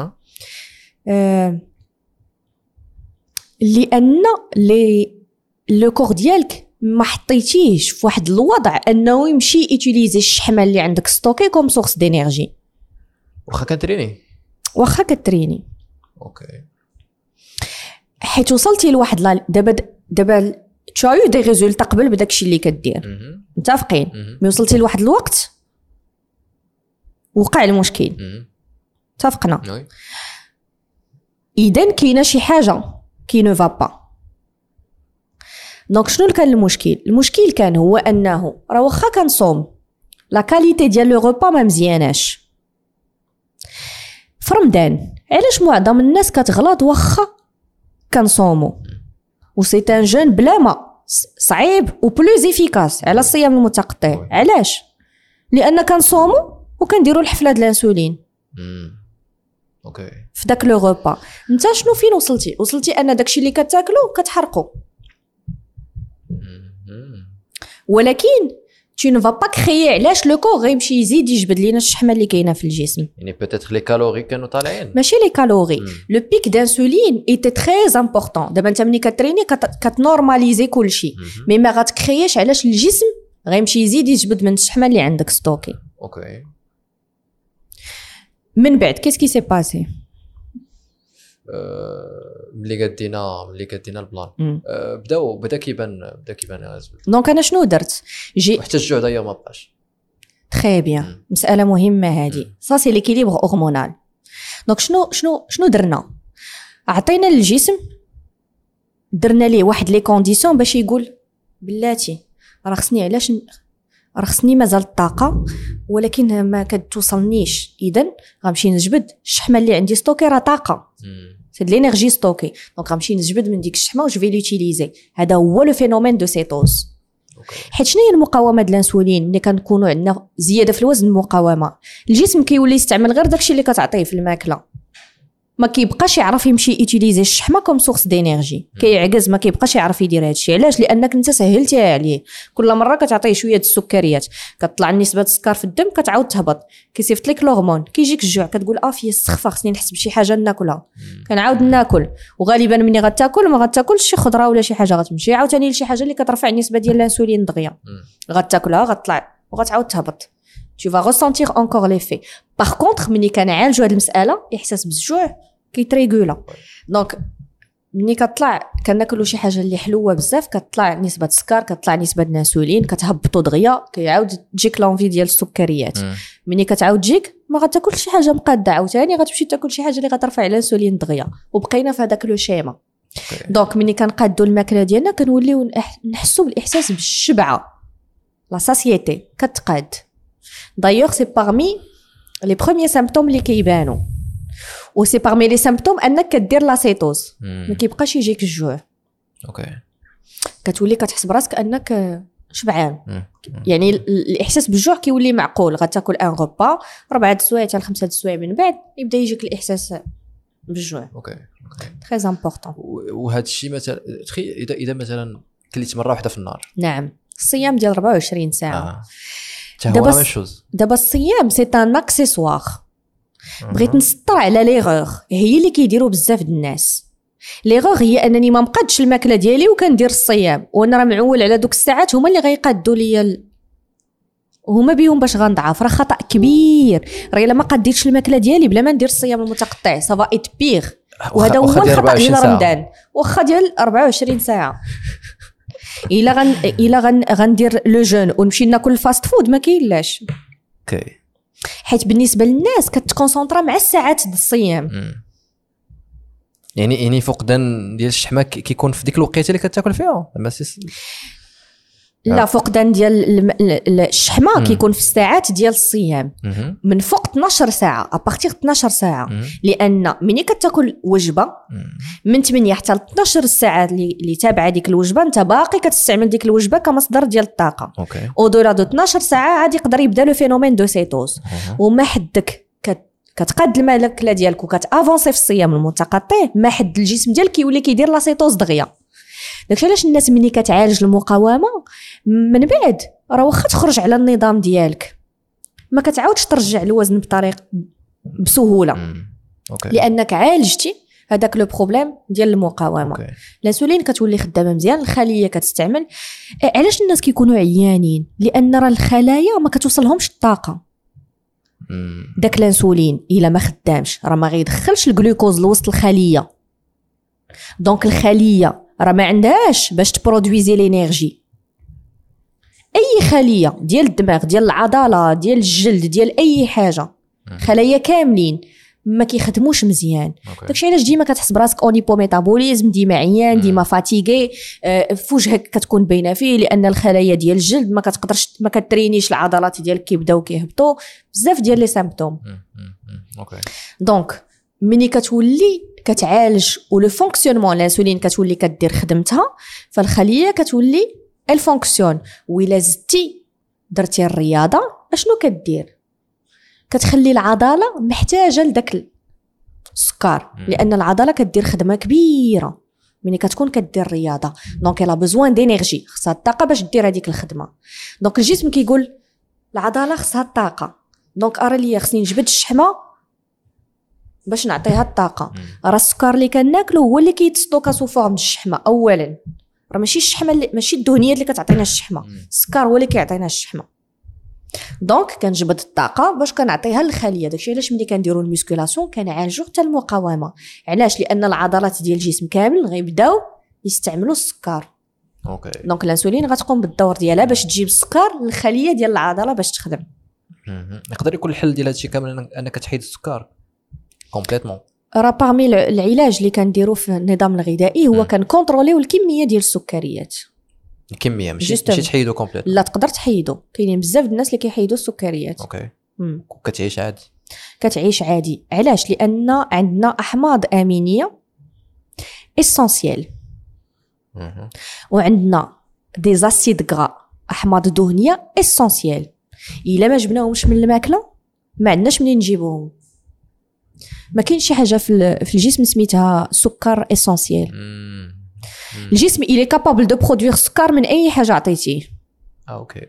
لان لو كور ديالك ما حطيتيهش في واحد الوضع انه يمشي يوتيليزي الشحمه اللي عندك ستوكي كوم سورس دينيرجي. واخا كتريني. اوكي. حيت وصلتي لواحد دابا تشايو دي ريزولتا قبل بداكشي اللي كدير، متفقين. مي وصلتي لواحد الوقت وقع المشكل، اتفقنا. اذا كاينه شي حاجه كي نو فا با. دونك شنو كان المشكل كان هو انه راه واخا كنصوم لا كاليتي ديال لو غوبا ما مزياناش في رمضان. علاش معظم الناس كتغلط واخا كنصومو و سي ان جون بلا ما صعيب و بلوز افيكاس على الصيام المتقطع. علاش؟ لان كنصومو وكنديروا الحفله ديال الانسولين اوكي في داك لو غوبا. انت شنو فين وصلتي ان داكشي اللي كتاكلو كتحرقو، ولكن tu ne vas pas créer. علاش لو كور غيمشي يزيد يجبد لينا الشحمه اللي كاينه في الجسم؟ يعني بوتيتر لي كالوري كانوا طالعين، ماشي لي كالوري. لو بيك دانسولين ايتي تري امبورطون. دابا انت ملي كتريني كتنورماليزي كلشي، مي ما غاتكرييش. علاش؟ الجسم غيمشي يزيد يجبد من الشحمه اللي عندك ستوكي. اوكي من بعد كيسكي سي باسي؟ ملي قدينا البلان بدا كيبان الريزولت. دونك انا شنو درت؟ حتى الجوع داير ما بقاش. تري بيان، مساله مهمه هذه. سا سي ليكيليبر هرمونال. دونك شنو درنا؟ عطينا للجسم، درنا ليه واحد لي كونديسيون باش يقول بلاتي راه خصني مازال الطاقه ولكن ما كتوصلنيش، اذا غنمشي نجبد الشحمه اللي عندي ستوكي. راه طاقه، سي د لينيرجي ستوكي، دونك غنمشي نجبد من ديك الشحمه وجو في لوتيليزي. هذا هو لو فينومين دو سيتوز. حيت شنو هي المقاومه ديال الانسولين؟ ملي كنكونوا عندنا زياده في الوزن، المقاومه الجسم كيولي يستعمل غير داكشي اللي كتعطيه في الماكله، ما كيبقاش يعرف يمشي يوتيليزي الشحمه كوم سورس دينيرجي. كيعجز، ما كيبقاش يعرف يدير هادشي. علاش؟ لانك انت سهلتيها عليه. كل مره كتعطيه شويه السكريات كتطلع نسبه السكر في الدم، كتعاود تهبط، كيصيفط لك الهرمون، كيجيك الجوع، كتقول فيا السخفه خصني نحس بشي حاجه ناكلها. كنعاود ناكل، وغالبا ملي غتاكل ما غتاكلش شي خضره ولا شي حاجه، غتمشي عاوتاني لشي حاجه اللي كترفع النسبه ديال الانسولين دغيا، غتاكلها غتطلع وغتعاود تهبط. tu vas ressentir encore l'effet. par contre ملي كنعالجوا هذه المساله، احساس بالجوع كيتريغولا. دونك ملي كطلع كناكلوا شي حاجه اللي حلوه بزاف، كتطلع نسبه السكر، كتطلع نسبه الانسولين، كتهبطوا دغيا، كيعاود تجيك لونفي ديال السكريات. ملي كتعاود تجيك ما غتاكلش شي حاجه مقاده، عاوتاني غتمشي تاكل شي حاجه اللي غترفع الانسولين دغيا، وبقينا في هذاك لو شيما. دونك ملي كنقادوا الماكله ديالنا كنوليو نحسوا بالاحساس بالشبعه، لا ساسيتي كتقاد. دايوغ سي بارمي لي بروميير سيمبتوم اللي كيبانوا، و سي بارمي لي سيمبتوم انك كدير لاسيتوز، ما كيبقاش يجيك الجوع. اوكي كتولي كتحس براسك انك شبعان. يعني الاحساس بالجوع كيولي معقول. غتاكل ان غوبا 4 سوايع حتى 5 سوايع، من بعد يبدا يجيك الاحساس بالجوع. اوكي تري امبورطون. وهذا الشيء مثلا اذا مثلا كليت مره واحده في النهار. نعم، الصيام ديال 24 ساعه. دابا الصيام سي ان اكسيسوار. بغيت نسطر على ليغور هي اللي كيديروا بزاف د الناس. ليغور هي انني ما مقادش الماكله ديالي وكندير الصيام، وانا راه معول على دوك الساعات هما اللي غيقادوا ليا هما بيهم باش غنضعف. راه خطا كبير. راه الا ما قاديتش الماكله ديالي بلا ما ندير الصيام المتقطع سافا ايت بيغ. وهذا هو الخطا ديال رمضان، واخا ديال 24 ساعه. الا غندير لو جون ونمشي ناكل الفاست فود ما كاينلاش. اوكي. حيت بالنسبه للناس كتكونسونطرا مع الساعات د الصيام. يعني فقدان ديال الشحمه كيكون في ديك الوقيته اللي كتاكل فيها. لا، فقدان ديال الشحمه كيكون في الساعات ديال الصيام من فوق 12 ساعه، ابارتيغ 12 ساعه. لان ملي كتاكل وجبه من 8 حتى 12 ساعه اللي تابعه ديك الوجبه، انت باقي كتستعمل ديك الوجبه كمصدر ديال الطاقه. او دولا دو 12 ساعه عاد يقدر يبدا لو فينومين دو سيتوز. وما حدك كتقاد الماكله ديالك وكتافونسي في الصيام المتقطع، ما حد الجسم ديالك كيولي كيدير لا سيتوز دغيا. داكشي علاش الناس ملي كتعالج المقاومه من بعد راه واخا تخرج على النظام ديالك ما كتعاودش ترجع الوزن بطريقه بسهوله. لانك عالجتي هذاك لو بروبليم ديال المقاومه. الانسولين كتولي خدامه مزيان، الخليه كتستعمل. علاش الناس كيكونوا عيانين؟ لان راه الخلايا ما كتوصلهمش الطاقه. داك الانسولين الا ما خدامش راه ما غيدخلش الجلوكوز لوسط الخليه. دونك الخليه راه ما عندهاش باش تبرودويزي لينيرجي. اي خليه ديال الدماغ، ديال العضله، ديال الجلد، ديال اي حاجه، خلايا كاملين ما كيخدموش مزيان. داكشي علاش ديما كتحس براسك اونيبو ميتابوليزم، ديما عيان، ديما فاتيغي، في وجهك كتكون باينه فيه، لان الخلايا ديال الجلد ما كتقدرش ما كترينيش العضلات ديالك كيبداو كيهبطوا، بزاف ديال لي سيمبتوم. دونك ملي كتولي كتعالج ولو فونكسيونمون الانسولين كتولي كدير خدمتها، فالخليه كتولي الفونكسيون. وإلا زدتي درتي الرياضه اشنو كدير؟ كتخلي العضله محتاجه لداك السكر، لان العضله كدير خدمه كبيره ملي كتكون كدير الرياضه. دونك الا بزوان دينيرجي، خصها الطاقه باش دير هذيك الخدمه. دونك الجسم كيقول العضله خصها الطاقه، دونك ارى ليا خصني نجبد الشحمه باش نعطيها الطاقه. راه السكر اللي كناكلو هو اللي كيتستوكا سو فورم الشحمه اولا، راه ماشي الشحمه ماشي الدهنيات اللي كتعطينا الشحمه، السكر هو اللي كيعطينا الشحمه. دونك كنجبد الطاقه باش كنعطيها للخليه. داكشي علاش ملي كنديروا الميسكولاسيون كنعالجوا حتى المقاومه. علاش؟ لان العضلات ديال الجسم كامل غيبداو يستعملوا السكر. اوكي. دونك الانسولين غتقوم بالدور ديالها باش تجيب السكر للخليه ديال العضله باش تخدم. يقدر يكون الحل ديال هادشي كامل انك تحيد السكر كومبليتمون. راه باغمي العلاج اللي كنديروا في النظام الغذائي هو كنكونتروليو الكميه ديال السكريات. الكميه ماشي تحيدو كومبليت. لا تقدر تحيدو، كاينين بزاف د الناس اللي كيحيدوا السكريات. اوكي. كتعيش عادي. كتعيش عادي. علاش؟ لان عندنا احماض امينيه اسونسيال، وعندنا دي زاسيد غرا احماض دهنيه اسونسيال. الا ما جبناهمش من الماكله ما عندناش منين نجيبوهم. ما كاينش شي حاجه في الجسم سميتها سكر اسونسيال. الجسم il est capable de produire سكر من اي حاجه عطيتيه. اوكي.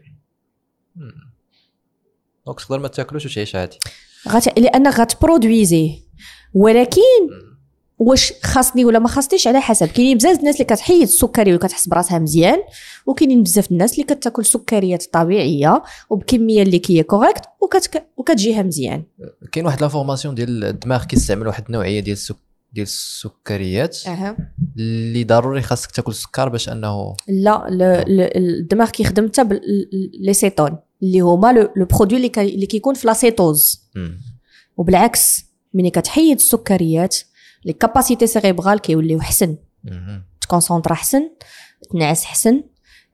دونك تقدر ما تاكلوش وتعيش عادي. لانك غتبرودويزيه. ولكن واش خاصني ولا ما خاصنيش على حسب. كاينين بزاف الناس اللي كتحيد السكري وكتحس براسها مزيان، وكاينين بزاف الناس اللي كتاكل سكريات طبيعيه وبكميه اللي كي كوريكت وكتجيها مزيان. كاين واحد لافورماسيون ديال الدماغ كيستعمل واحد النوعيه ديال السكريات اللي ضروري خاصك تاكل السكر باش انه لا الدماغ كيخدم حتى لي سيتون اللي هما لو برودوي اللي كيكون في لاسيتوز. وبالعكس ملي كتحيد السكريات لي كاباسيتي سيريبرال كيوليو احسن، تكونسونطرا احسن، تنعس احسن،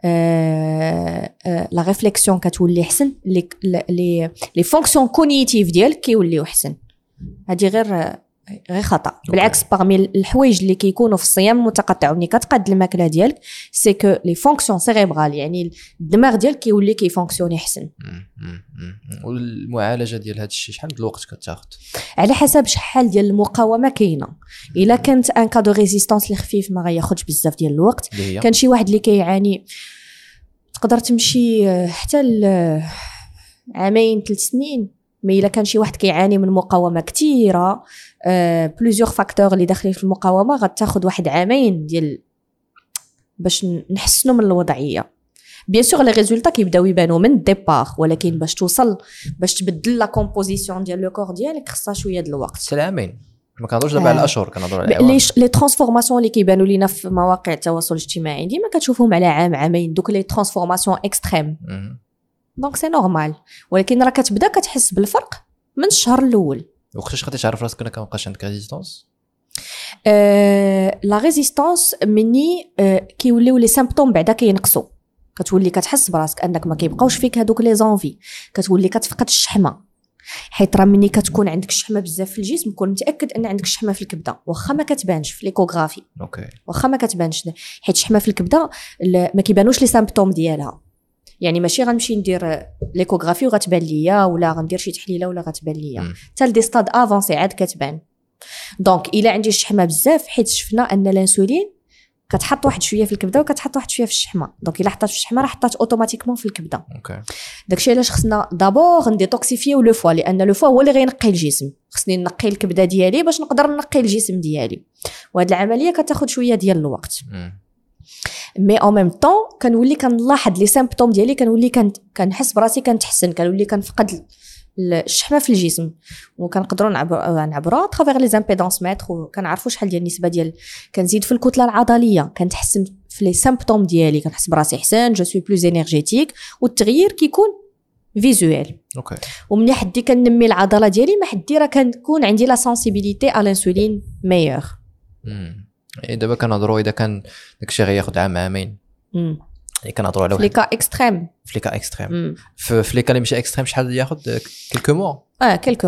لا ريفليكسيون كتولي احسن، لي فونكسيون كوغنيتيف ديالك كيوليو احسن. هادي غير خطا. بالعكس باغمي الحوايج اللي كيكونوا في الصيام المتقطع وملي كتقاد الماكله ديالك سي كو لي فونكسيون سيريبرال يعني الدماغ ديالك كيولي كيفونكسيوني احسن. والمعالجه ديال هذا الشيء شحال من الوقت كتاخذ؟ على حسب شحال ديال المقاومه كاينه. الا كانت ان كادو ريزيستانس اللي خفيف ما غياخذش بزاف ديال الوقت. كان شي واحد اللي كيعاني تقدر تمشي حتى عامين 3 سنين. مي الا كان شي واحد كيعاني من مقاومه كثيره بليزيور فاكتور اللي داخلين في المقاومه غتاخذ واحد عامين ديال باش نحسنوا من الوضعيه. بيان سور لي ريزولطا كيبداو يبانوا من الديبار، ولكن باش توصل باش تبدل لا كومبوزيسيون ديال لو كور ديالك خصها شويه د الوقت. 3 عامين ما كنهضروش دابا على الاشهر، كنهضروا على الاعوام. لي ترانسفورماسيون اللي كيبانوا لينا في مواقع التواصل الاجتماعي ديما كتشوفهم على عامين، دوك لي ترانسفورماسيون اكستريم. دونك سي نورمال، ولكن راه كتبدا كتحس بالفرق من الشهر الاول. وقتاش غادي تعرف راسك انك مابقاش عندك ريزيستانس؟ لا ريزيستانس مني كيوليو لي سيمبتوم بعدا كينقصوا، كتولي كتحس براسك انك ما كيبقاوش فيك هذوك لي زونفي، كتولي كتفقد الشحمه. حيت راه مني كتكون عندك الشحمه بزاف في الجسم كون متاكد ان عندك الشحمه في الكبده، واخا ما كتبانش في ليكوغرافي. اوكي. واخا ما كتبانش، حيت الشحمه في الكبده ما كيبانوش لي سيمبتوم ديالها. يعني ماشي غنمشي ندير ليكوغرافي وغتبان ليا، ولا غندير شي تحليله ولا غتبان ليا، حتى لدي ستاد افونسي عاد كتبان. دونك الا عندي الشحمه بزاف، حيت شفنا ان الانسولين كتحط واحد شويه في الكبده وكتحط واحد شويه في الشحمه، دونك الا حطات في الشحمه راه حطات اوتوماتيكمون في الكبده. اوكي. داكشي علاش خصنا دابور نديتوكسيفيو لو فوا، لان لو فوا هو اللي غينقي الجسم. خصني نقي الكبده ديالي باش نقدر نقي الجسم ديالي، وهاد العمليه كتاخذ شويه ديال الوقت. مي او ميم طون كنولي كنلاحظ لي سيمبتوم ديالي، كنولي كنحس براسي كنتحسن، كنولي كنفقد الشحمه في الجسم، وكنقدروا نعبروا ترافير لي زامبيدونس متر، وكنعرفوا شحال ديال النسبه ديال كنزيد في الكتله العضليه، كنتحسن في لي سيمبتوم ديالي، كنحس براسي احسن، جو سوي بلوز انرجيتيك، والتغيير كيكون فيزوال. اوكي. ومني حدي كنمي العضله ديالي، ما حدي راه كنكون عندي لا سنسيبيليتي على الانسولين ميور. دابا كنهضروا اذا كان داكشي غياخذ عامين، كنهضروا على واحد لي كا اكستريم. في لي كا اكستريم، في لي كا اللي ماشي اكستريم شحال ياخذ؟ كلكو موا. كلكو موا.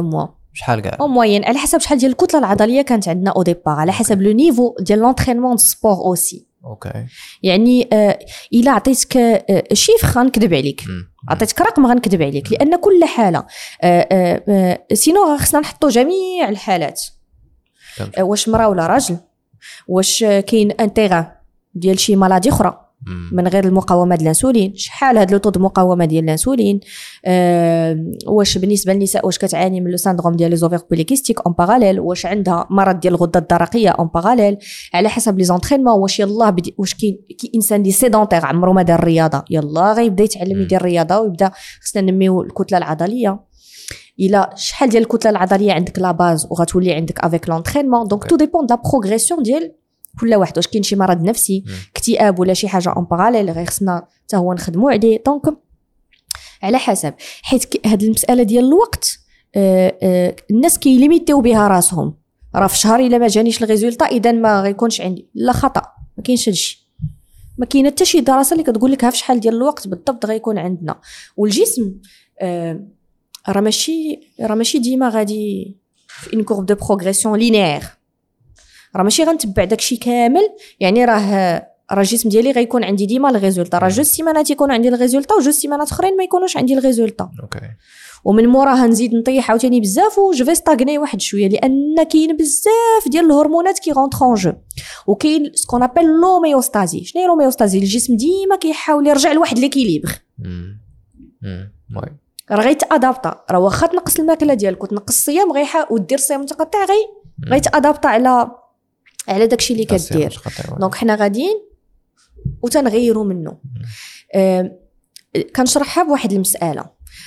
شحال كاع او موين على حسب شحال ديال الكتله العضليه كانت عندنا او ديبار، على حسب لو نيفو ديال لونطرينمون سبور اوسي. اوكي يعني الا عطيتك شيفر غنكذب عليك، عطيتك رقم غنكذب عليك، لان كل حاله سينو خصنا نحطوا جميع الحالات، واش مراه ولا راجل، واش كاين انتيغا ديال شي مالادي اخرى من غير المقاومه ديال الانسولين، شحال هاد لو طو دو مقاومه ديال الانسولين، واش بالنسبه للنساء واش كتعاني من لو ساندروم ديال لي زوفير بوليكيستيك اون باراليل، واش عندها مرض ديال الغده الدرقيه اون باراليل، على حسب لي زونطرينمون، واش يلاه واش كاين انسان دي سيدونتير عمرو ما دار الرياضه يلاه غيبدا يتعلم يدير الرياضه ويبدا خصنا ننميو الكتله العضليه، الا شحال ديال الكتله العضليه عندك لا باز وغتولي عندك افيك لونطرينمون. دونك تو ديبون دا بروغريسيون ديال كل واحد، واش كاين شي مرض نفسي اكتئاب ولا شي حاجه اون باراليل غير خصنا حتى هو نخدموا عليه. دونك على حسب، حيت هاد المساله ديال الوقت الناس كيليميتيو بها راسهم، راه في شهر الا ما جانيش الريزولطا اذا ما غيكونش عندي، لا خطا، ما كاينش هادشي، ما كاينه حتى شي دراسه اللي كتقول لك ها في شحال ديال الوقت بالضبط غيكون عندنا. والجسم راه ماشي ديما غادي في ان كورب دو بروغريسيون لينيير، راه ماشي غنتبع داكشي كامل، يعني راه الجسم ديالي غيكون عندي ديما الريزولطا، راه جوج سيمانات يكون عندي الريزولطا وجوج سيمانات اخرين ما يكونوش عندي الريزولطا. اوكي، ومن موراها نزيد نطيح عاوتاني بزاف و جو في ستاغني واحد شويه، لان كاين بزاف ديال الهرمونات كي رونطرون جو، وكاين سكون ابل لوميوستازي. شنو هي لوميوستازي؟ الجسم ديما كيحاول يرجع لواحد ليكيليبر، راه غيتادابطا، راه واخا تنقص الماكله ديالك وتنقص الصيام ودير صيام متقطع غيتادابطا على داكشي اللي كدير. دونك حنا غاديين وتنغيروا منه. كنشرحها بواحد المساله،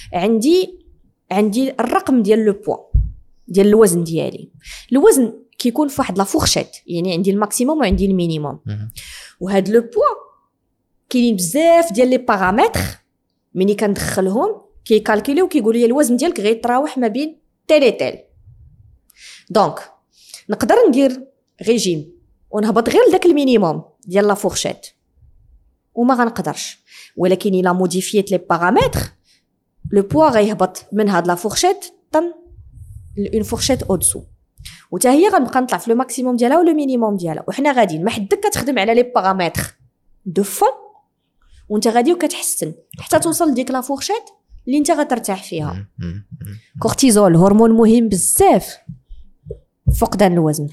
عندي الرقم ديال لو بوا ديال الوزن ديالي، الوزن كيكون في واحد لا فورشيت، يعني عندي الماكسيموم وعندي المينيموم، وهاد لو بوا كاينين بزاف ديال لي بارامتر ملي كندخلهم كيكالكوليو كيقولوا لي الوزن ديالك غيتراوح ما بين تال تال. دونك نقدر ندير ريجيم ونهبط غير داك المينيموم ديال لا فورشيت وما غنقدرش، ولكن الا موديفيت لي بارامتر لو بوا غيهبط من هاد لا فورشيت طن اون فورشيت او دسو، وتا هي غنبقى نطلع في لو ماكسيموم ديالها ولا مينيموم ديالها، وحنا غاديين ما حدك كتخدم على لي بارامتر دو فون وانت غادي وكتحسن حتى توصل لديك لا فورشيت اللي انت غترتاح فيها. كورتيزول هرمون مهم بزاف فقدان الوزن،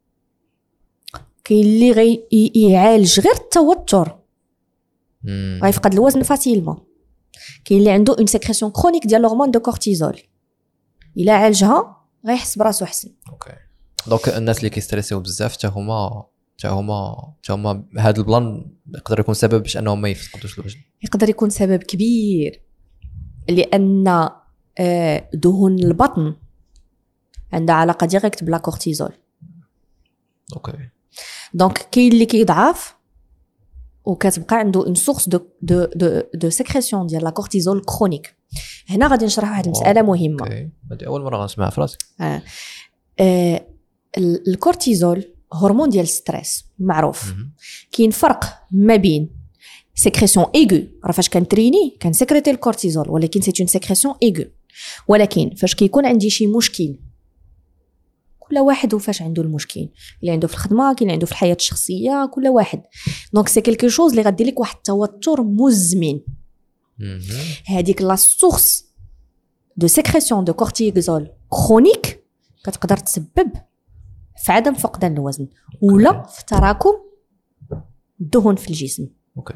كاين اللي يعالج غير التوتر غيفقد الوزن فاسيلمون، كاين اللي عنده اون سيكريسيون كرونيك ديال الهرمون دو كورتيزول الا عالجها غيحس براسو احسن. اوكي، دونك الناس اللي كيستريسيو بزاف حتى هما هذا البلان يقدر يكون سبب باش انهم ما يفقدوش الوزن، يقدر يكون سبب كبير، لان دهون البطن عندها علاقه ديريكت بلا كورتيزول. اوكي، دونك كاين اللي كيضعف وكتبقى عنده اون سورس دو سيكريسيون ديال لا كورتيزول كرونيك. هنا غادي نشرح واحد المساله مهمه. اوكي، هذه اول مره غنسمعها في راسي. الكورتيزول هرمون ديال الستريس معروف. كاين فرق ما بين سيكريسيون ايغو، راه فاش كنتريني كنسكريتي الكورتيزول ولكن سي اون سيكريسيون ايغو، ولكن فاش كيكون عندي شي مشكل، كل واحد وفاش عنده المشكل، اللي عنده في الخدمه، كاين اللي عنده في الحياه الشخصيه، كل واحد. دونك سي كلكو شوز اللي غادير لك واحد التوتر مزمن. هذيك لا سورس دو سيكريسيون دو كورتيزول كرونيك كتقدر تسبب في عدم فقدان الوزن ولا في تراكم الدهون في الجسم. اوكي،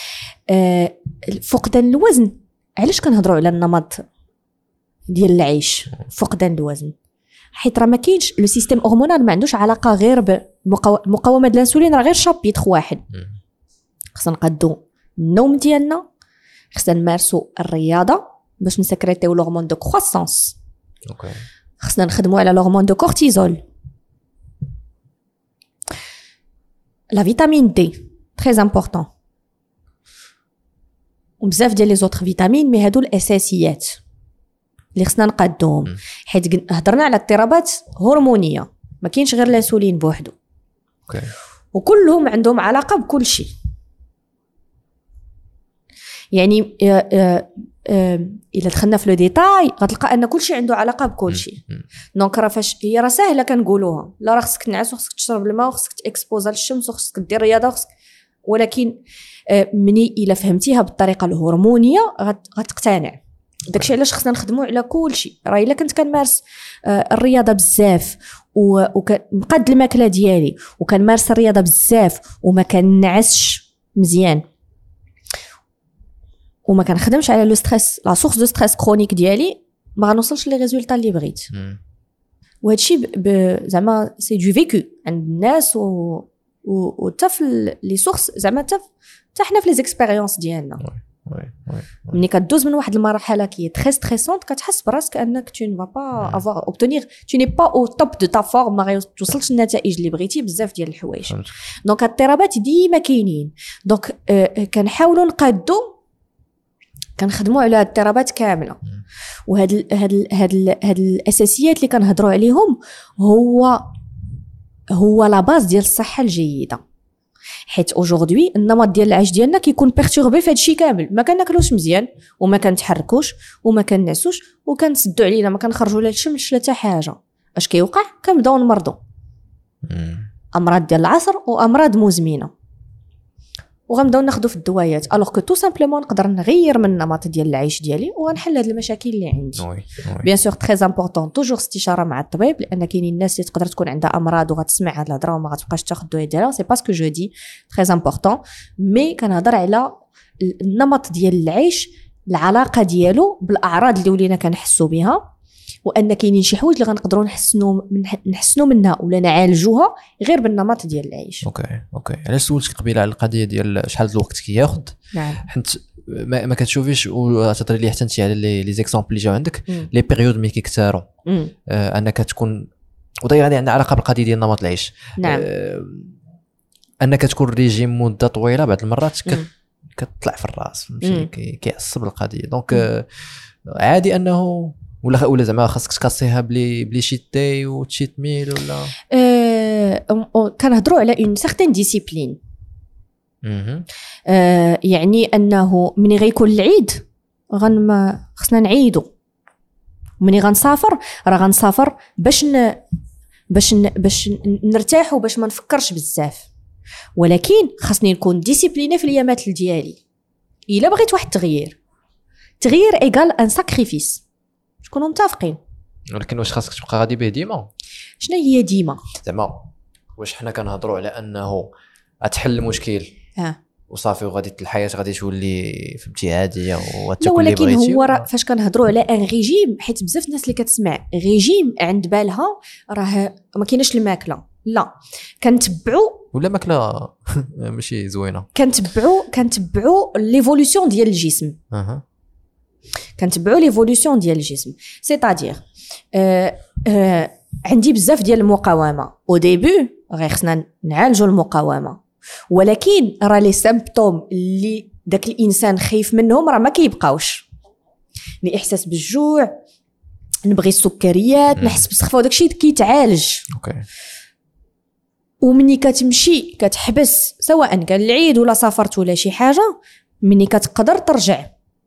فقدان الوزن، علاش كنهضروا على النمط ديال العيش فقدان الوزن؟ حيت راه ما كاينش لو سيستيم هرمونال ما عندوش علاقه غير بمقاومه الانسولين، راه غير شابيتر واحد. خصنا نقادو النوم ديالنا، خصنا نمارسوا الرياضه باش نسكريتيو الهرمون دو كرواسونس. اوكي، خصنا نخدموا على الهرمون دو كورتيزول، لا فيتامين دي تري امبورطون، وبزاف ديال لي زوتر فيتامين، مي هادو الاساسيات اللي خصنا نقادوهم. حيت هضرنا على اضطرابات هرمونيه، ما كاينش غير الانسولين بوحدو. اوكي، وكلهم عندهم علاقه بكل شيء. يعني الا دخلنا في لو ديتاي غتلقى ان كلشي عنده علاقه بكلشي. دونك راه فاش هي راه ساهله كنقولوها، لا راه خصك تنعس وخصك تشرب الماء وخصك تاكسبوزا للشمس وخصك دير رياضه وخصك، ولكن مني الا فهمتيها بالطريقه الهرمونيه غتقتنع. داكشي علاش خصنا نخدموا على كلشي. راه الا كنت كنمارس الرياضه بزاف وكنقاد الماكله ديالي وكنمارس الرياضه بزاف وما كنعسش مزيان وما كنخدمش على لو ستريس لا سورس دو ستريس كرونيك ديالي، ما غنوصلش لي ريزولطا اللي بغيت. وهادشي زعما سي دو فيكو عند الناس و حتى في لي سورس زعما حتى حنا في لي زيكسبيريونس ديالنا. ملي كدوز من واحد المرحله كي تري ستريسونت كتحس براسك انك tu ne vas pas avoir obtenir tu n'es pas au top de ta forme، ما توصلش النتائج اللي بغيتي بزاف ديال الحوايج. دونك الاضطرابات ديما كاينين. دونك كنحاولوا نقادو كنخدموا على الاضطرابات كامله. هاد الاساسيات اللي كنهضروا عليهم هو لا باز ديال الصحه الجيده. حيت اوجوردي النمط ديال العيش ديالنا كيكون بيرتوربي في هادشي كامل، ما كناكلوش مزيان وما كنتحركوش وما كنعسوش وكنسدوا علينا، ما كنخرجوا لا الشمس لا حتى حاجه. اش كيوقع؟ كنبداو نمرضوا امراض ديال العصر وامراض مزمنه وغنبداو ناخذوا في الدوايات. الوغ كو تو سامبلومون نقدر نغير من النمط ديال العيش ديالي وغنحل هاد المشاكل اللي عندي. بيان سور تري امبورطون توجور استشاره مع الطبيب، لان كاينين الناس اللي تقدر تكون عندها امراض وغتسمع هاد الهضره وما غتبقاش تاخذ الدوايات ديالها. سي باسكو جو دي تري امبورطون، مي كنهضر على النمط ديال العيش، العلاقه بالاعراض اللي ولينا كنحسوا بها، وان كاينين شي حوايج اللي غنقدروا نحسنوا منها ولا نعالجوها غير بالنمط ديال العيش. اوكي علاش سولتك قبيله على القضيه ديال شحال الوقت كياخذ؟ نعم. حيت ما كتشوفيش وتهضري لي حتى انت على لي زيكزامبل اللي جاو عندك لي بيريود ملي كيكثروا انك تكون وداير غادي عندها علاقه بالقضيه ديال نمط العيش. نعم. انك تكون ريجيم مده طويله بعض المرات كتطلع في الراس، فهمتي؟ كيعصب القضيه. دونك عادي انه ولا زعما خاصك تكاسيها بلي شيتي وتشيت ميل ولا كنهضروا على اون سيغتين ديسيبلين. يعني انه ملي غيكون العيد خصنا نعيدوا، ملي غنسافر راه غنسافر باش نرتاح وباش ما نفكرش بزاف، ولكن خاصني نكون ديسيبليني في الايامات ديالي. الا بغيت واحد تغيير ايغال ان ساكريفيس، شكونوا متفقين. ولكن واش خاصك تبقى غادي به ديما؟ شنو هي ديما؟ زعما واش حنا كنهضروا على انه غتحل المشكل وصافي وغادي الحياه غادي تولي فهمتي عاديه وتاكل اللي بغيتي؟ ولكن هو فاش كنهضروا على ان ريجيم، حيت بزاف الناس اللي كتسمع ريجيم عند بالها راه ما كايناش الماكله، لا كنتبعوا ولا ماكله ماشي زوينه، كنتبعوا ليفولوسيون ديال الجسم. كنتبعوا ليفولوسيون ديال الجسم، سيتادير عندي بزاف ديال المقاومه او ديبي غير خصنا نعالجوا المقاومه، ولكن راه لي سيمبتوم اللي داك الانسان خايف منهم راه ما كيبقاوش. الاحساس بالجوع، نبغي السكريات، نحس بالسخفه، وداك الشيء كيتعالج. ومني كتمشي كتحبس سواء كان العيد ولا سافرت ولا شي حاجه، مني كتقدر ترجع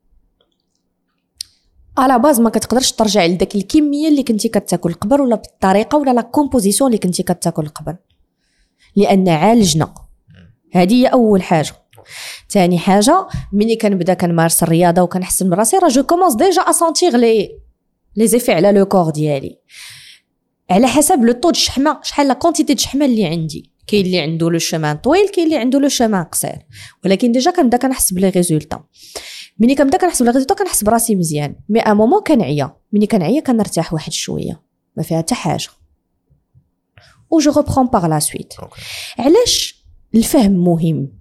على باز ما كتقدرش ترجع لداك الكميه اللي كنتي كتاكل قبل ولا بالطريقه ولا لا كومبوزيسيون اللي كنتي كتاكل قبل، لان عالجنا. هذه هي اول حاجه. ثاني حاجه ملي كنبدا كنمارس الرياضه وكنحسن من راسي، راه جو كومونس ديجا ا سونتيغ لي زيفي على لو كور ديالي على حسب لو طو د الشحمه، شحال لا كونتيتي د الشحمه اللي عندي. كاين اللي عنده لو شمان طويل، كاين اللي عنده لو شمان قصير، ولكن ديجا كنبدا كنحس بلي ريزولطا. ملي كنبدا كنحس بلي ريزولطا كنحس براسي مزيان، مي ا مومون كنعيا. ملي كنعيا كنرتاح واحد شويه، ما فيها حتى حاجه، و جو ريبرون باغ لا سويت. علاش الفهم مهم؟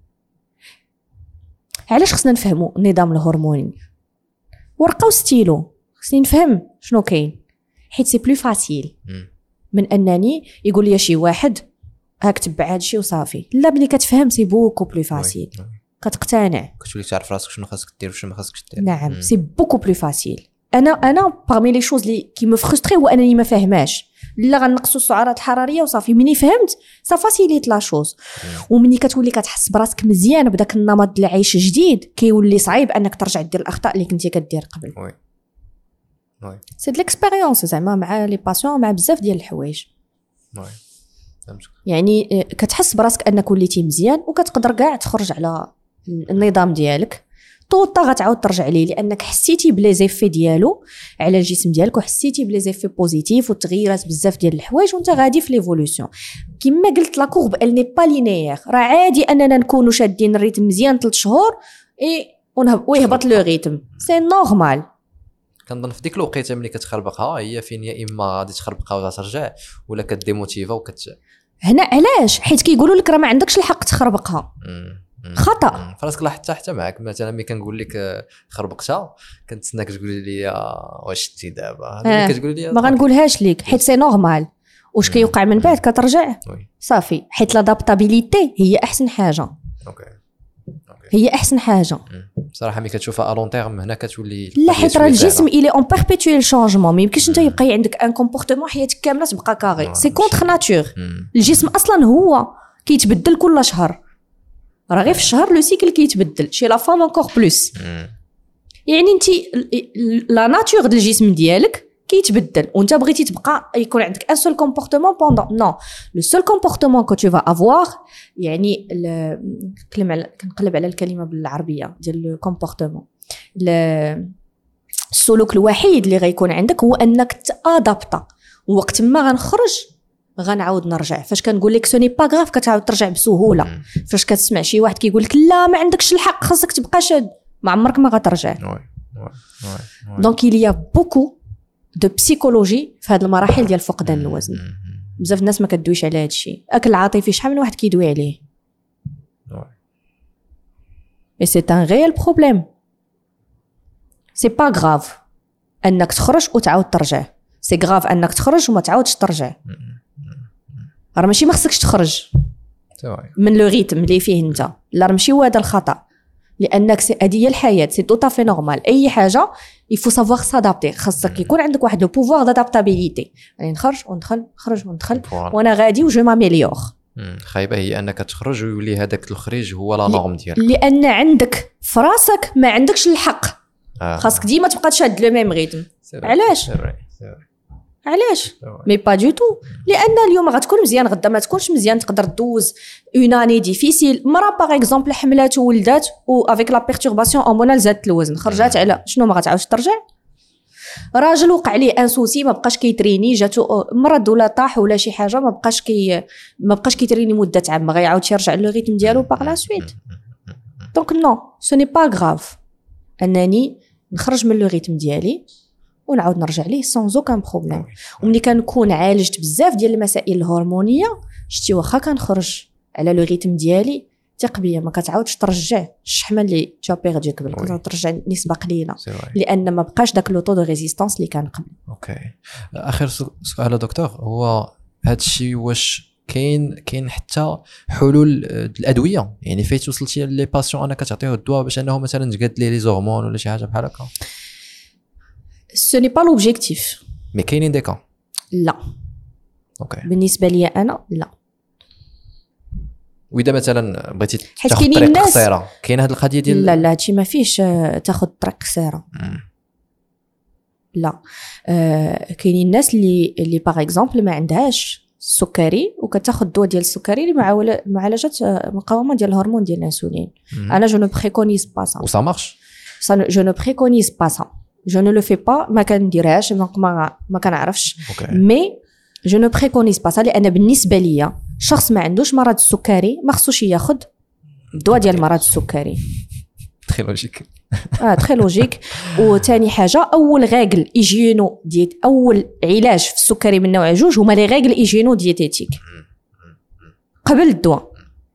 علاش خصنا نفهموا النظام الهرموني؟ ورقه وستيلو خصني نفهم شنو كاين، حيت سي بلو فاسيل من انني يقول لي شي واحد هاك تبع هادشي وصافي. لا، ملي كتفهم سي بوكو بلو فاسيل، كتقتنع، كتولي تعرف راسك شنو خاصك دير وشنو ما خاصكش دير. نعم، سي بوكو بلو فاسيل. انا parmi les choses qui me frustrait هو انني ما فاهماش. لا غنقصوا السعرات الحراريه وصافي. مني فهمت سا فاسيليت لا شوز. ومني كتولي كتحس براسك مزيان بداك النمط ديال العيش جديد كيولي صعيب انك ترجع دير الاخطاء اللي كنتي كدير قبل. وي سي د ليكسبيريونس زعما مع لي باسيون مع بزاف ديال الحوايج. يعني كتحس براسك انك وليتي مزيان وكتقدر كاع تخرج على النظام ديالك طوطا غتعاود ترجع ليه لانك حسيتي بلي زيفي ديالو على الجسم ديالك وحسيتي بلي زيفي بوزيتيف وتغيرات بزاف ديال الحوايج وانت غادي في ليفولوسيون. كما قلت لا كورب ال ني با لينيير. راه عادي اننا نكونوا شادين الريتم مزيان 3 شهور ويهبط لو ريتم سي نورمال. كنظن في ديك الوقيته ملي كتخربقها هي فين يا اما غادي تخربقها وترجع ولا كديموتيفا هنا علاش حيت كيقولوا لك راه ما عندكش الحق تخربقها. خطا. فراسك لاحظت حتى معك مثلا ملي كنقول لك خربقتها كنتسناك تقولي لي واش شتي دابا ملي كتقولي لي ما غنقولهاش ليك حيت سي نورمال. واش كيوقع من بعد كترجع صافي حيت لادابتابيليتي هي احسن حاجه. هي احسن حاجه بصراحه ملي كتشوفها لون تيرم هنا كتولي لا حيت راه الجسم الي اون بيربيتويل شونجمون. ما يمكنش انت يبقى عندك ان كومبورتمون حياتك كامله تبقى كاري. سي كونتر ناتور. الجسم اصلا هو كيتبدل كل شهر. راه غير في الشهر لو سيكل كيتبدل شي لا فام انكور بلوس. يعني انت لا ناتور ديال الجسم ديالك كيتبدل وانت بغيتي تبقى يكون عندك ان سول كومبورتمون بوندون نو لو سول كومبورتمون كو تو فا افوار. يعني كنقلب على الكلمه بالعربيه ديال لو كومبورتمون. السلوك الوحيد اللي غيكون عندك هو انك تادابتا. وقت ما غنخرج غنعاود نرجع. فاش كنقول لك سوني با غاف كتعاود ترجع بسهوله. فاش كتسمع شي واحد كيقول لك لا ما عندكش الحق خاصك تبقى شاد ما عمرك ما غترجع. دونك il y a beaucoup de psychologie في هذه المراحل ديال فقدان الوزن. بزاف الناس ما كدويش على هذا الشيء. اكل عاطفي شحال من واحد كيدوي عليه. et c'est un réel problème. c'est pas grave انك تخرج وتعاود ترجع. c'est grave انك تخرج وما تعاودش ترجع. راه ماشي ما خصكش تخرج من لو ريتم اللي فيه انت. لا راه ماشي هو هذا الخطا لانك هذه هي الحياه. سي تو طافي نورمال. اي حاجه يفو سافوار سادابتي. خاصك يكون عندك واحد لو بوفوار دادابتابيليتي. يعني نخرج وندخل نخرج وندخل وانا غادي وجو ماميليور. خايبه هي انك تخرج ويولي هذاك الخريج هو لا نورم ديالك لان عندك في راسك ما عندكش الحق. خاصك ديما تبقى تشاد لو ميم ريتم. علاش علاش مي با دو تو. لان اليوم غتكون مزيان غدا ما تكونش مزيان. تقدر دوز اون اني ديفيسيل. مرا باغ اكزومبل حملات وولدات و افيك لا بيرتورباسيون هرمونال زادت الوزن خرجات على شنو ما غتعاودش ترجع. راجل وقع ليه ان سوسي ما بقاش كيتريني جاتو مرض ولا طاح ولا شي حاجه ما بقاش كيتريني مده عام ما غيعاودش يرجع لو ريتم ديالو باغ لا سويت. دونك نو سو ني با غراف انني نخرج من لو ريتم ديالي ونعاود نرجع ليه سون اوكان بروبليم. وملي كنكون عالجت بزاف ديال المسائل الهرمونيه شتي واخا كنخرج على لو ريتم ديالي ثق بيا ما كتعاودش ترجع الشحمه اللي تا بيردي قبل. كتعاود ترجع نسبه قليله لان ما بقاش داك لو طو دو ريزيستانس اللي كان قبل. اوكي اخر سؤال دكتور هو هذا الشيء واش كاين حتى حلول الادويه يعني فايت وصلتي لي باسيون انا كتعطيه الدواء باش انه مثلا تقاد ليه لي هرمون ولا شي حاجه بحال هكا؟ ce n'est pas l'objectif. mais كاينين دي كا لا. اوكي بالنسبه لي انا لا. واذا مثلا بغيتي تاخذ طريق قصيره كاين هذه القضيه ديال لا هادشي ما فيهش تاخذ طريق قصيره. لا كاينين الناس اللي باغ اكزومبل ما عندهاش السكري وكتاخذ الدواء ديال السكري لمعالجه مقاومه ديال الهرمون ديال الانسولين. انا جو نو بريكونيز با سا. وسا مارش جو نو بريكونيز با سا. je ne le fais pas ما كنديرهاش ما كنعرفش مي je ne préconise pas ça لان بالنسبه ليا شخص ما عندوش مرض السكري ما خصوش ياخذ الدواء ديال مرض السكري. تري لوجيك تري لوجيك. وثاني حاجه اول ريغل ايجينو ديت اول علاج في السكري من نوع جوج هما لي ريغل ايجينو دييتيتيك قبل الدواء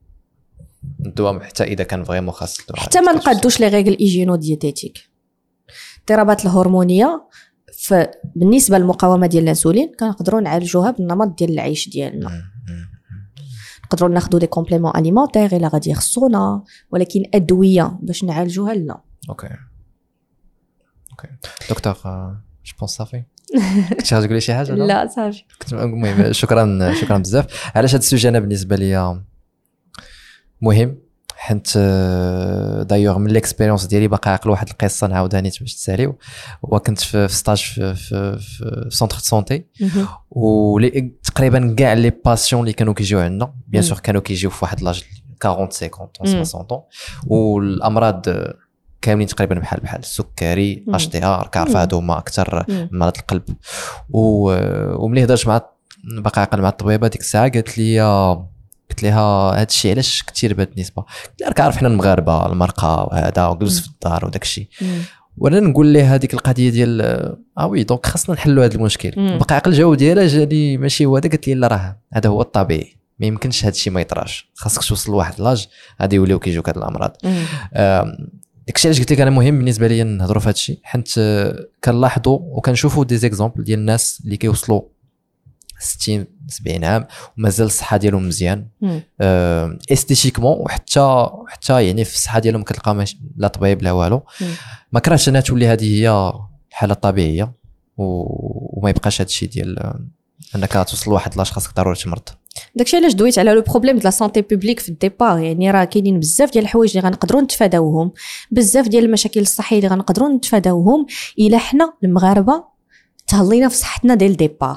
حتى اذا كان فريمون خاص الدواء حتى ما نقادوش لي ريغل ايجينو دييتيتيك. الاضطرابات الهرمونيه بالنسبه للمقاومه ديال الانسولين كنقدروا نعالجوها بالنمط ديال العيش ديالنا. نقدروا ناخذوا دي كومبليمون اليمونتير الا غادي يخصونا ولكن ادويه باش نعالجوها لا. اوكي اوكي دكتور جو بونس صافي كنتي غتقولي شي حاجه؟ لا صافي. المهم شكرا بزاف. علاش هذا السوجي انا بالنسبه لي مهم؟ حيت دايوغ من ليكسبيريونس ديالي باقي عاقل واحد القصه نعاودها نيت باش تساليو. وكنت في ستاج في سونتر سونتي، وتقريبا كاع لي باسيون اللي كانوا كيجيو عندنا بيان سور كانوا كيجيو في واحد لاج 40 50 60 والامراض كاملين تقريبا بحال السكري HDR كعرف هادو هما اكثر مرض القلب. وملي هضرت مع باقي عاقل مع الطبيبه ديك الساعه قالت ليها هذا الشيء علاش كثير بهاد النسبه؟ قلت لها كنعرف حنا المغاربه المرقه وهذا وجلس في الدار وداك الشيء. وانا نقول ليه هذيك القضيه ديال وي دونك خاصنا نحلوا هذا المشكل. باقي عاقل الجواب ديالها جاني ماشي هو هذا. قلت لي لا راه هذا هو الطبيعي، ما يمكنش هذا الشيء ما يطراش، خاصك توصل لواحد لاج غادي يوليو كيجيوك هاد الامراض. داكشي علاش قلت لك انا مهم بالنسبه لي نهضروا في هذا الشيء، حيت كنلاحظوا وكنشوفوا دي زيكزامبل ديال الناس اللي كيوصلوا 60 70 عام ومازال الصحه ديالهم مزيان استيتيكمون، وحتى يعني في الصحه ديالهم كتلقى لا طبيب لا والو. ما كرهتش انها تولي هذه هي الحاله الطبيعيه وما يبقاش هذا الشيء ديال انك توصل لواحد لاش خاصك ضروري تمرض. داكشي علاش دويت على لو بروبليم ديال لا سونتي بوبليك في الديبار. يعني راه كاينين بزاف ديال الحوايج اللي غنقدروا نتفاداوهم، بزاف ديال المشاكل الصحيه اللي غنقدروا نتفاداوهم الا حنا المغاربه تهلينا في صحتنا ديال الديبار.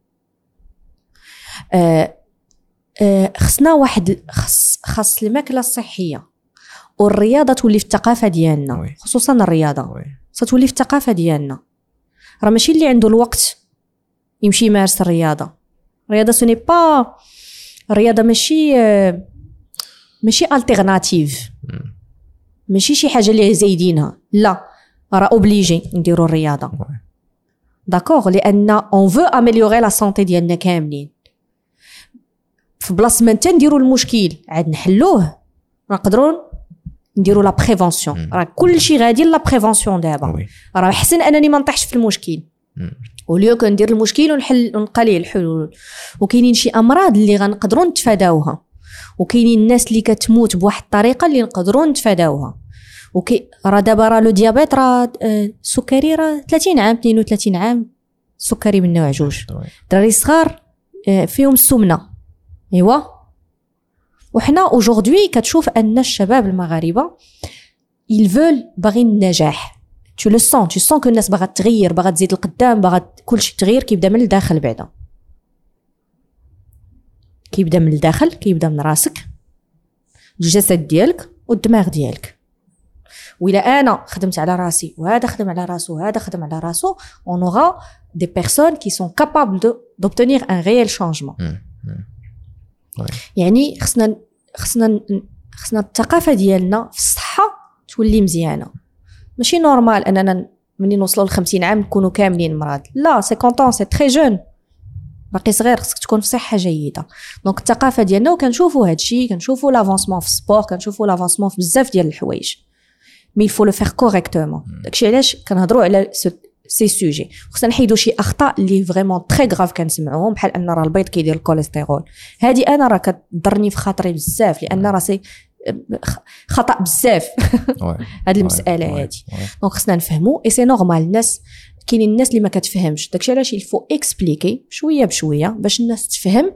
خصنا واحد خاص الماكله الصحيه والرياضه تولي في الثقافه ديالنا، خصوصا الرياضه ستولي في الثقافه ديالنا. راه ماشي اللي عنده الوقت يمشي يمارس الرياضه سوني با الرياضه ماشي التيرناتيف، ماشي شي حاجه اللي زايدينها، لا راه اوبليجي نديروا الرياضه داكوغ، لان اون فو اميليوري لا سونتي ديالنا كاملين. في بلاصه ما نديروا المشكل عاد نحلوه، نقدروا نديروا لا بريفونسيون. راه كلشي غادي لا بريفونسيون دابا. راه احسن انني ما نطيحش في المشكل وليو كندير المشكل ونلقى ليه الحلول. وكاينين شي امراض اللي غنقدروا نتفاداوها، وكاينين الناس اللي كتموت بواحد الطريقه اللي نقدروا نتفاداوها. راه دابا راه لو ديابيت راه السكري راه 30 عام 32 عام السكري من نوع جوج. دراري صغار فيهم السمنه ايوا. وحنا اوجوردي كتشوف ان الشباب المغاربه ils veulent باغيين النجاح. tu le sens que الناس باغا تغير، باغا تزيد القدام، باغا كلشي تغير. كيبدا من الداخل، بعدا كيبدا من الداخل، كيبدا من راسك، الجسد ديالك والدماغ ديالك. وإلا انا خدمت على راسي وهذا خدم على راسو وهذا خدم على راسو، on aura des personnes qui sont capables d'obtenir un réel changement. يعني خصنا الثقافه ديالنا في الصحه تولي مزيانه. ماشي نورمال اننا منين نوصلوا ل 50 عام نكونوا كاملين مرض، لا 50 سي تري جون، باقي صغير، خصك تكون في صحه جيده. دونك الثقافه ديالنا وكنشوفوا هادشي، كنشوفوا لافونسمون في السبور، كنشوفوا لافونسمون في بزاف ديال الحوايج، مي الفو لو فير كوريكتومون. داكشي علاش كنهضروا على سي سوجي. خصنا نحيدوا شي اخطاء اللي فريمون تري غراف كنسمعوهم، بحال ان راه البيض كيدير الكوليسترول. هذه انا راه كتضرني في خاطري بزاف، لان راه سي خطا بزاف هذه المساله هذه. دونك خصنا نفهموا اي سي نورمال. الناس كاينين الناس اللي ما كتفهمش، داكشي علاش يلفو اكسبليكي شويه بشويه باش الناس تفهم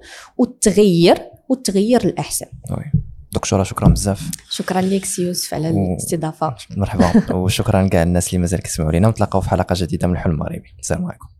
وتغير للاحسن. دكتوره شكرا بزاف. شكرا لك سي يوسف على الاستضافه. مرحبا وشكرا لكاع الناس اللي مازال كيسمعوا لينا، ونتلاقاو في حلقه جديده من الحلم المغربي. السلام عليكم.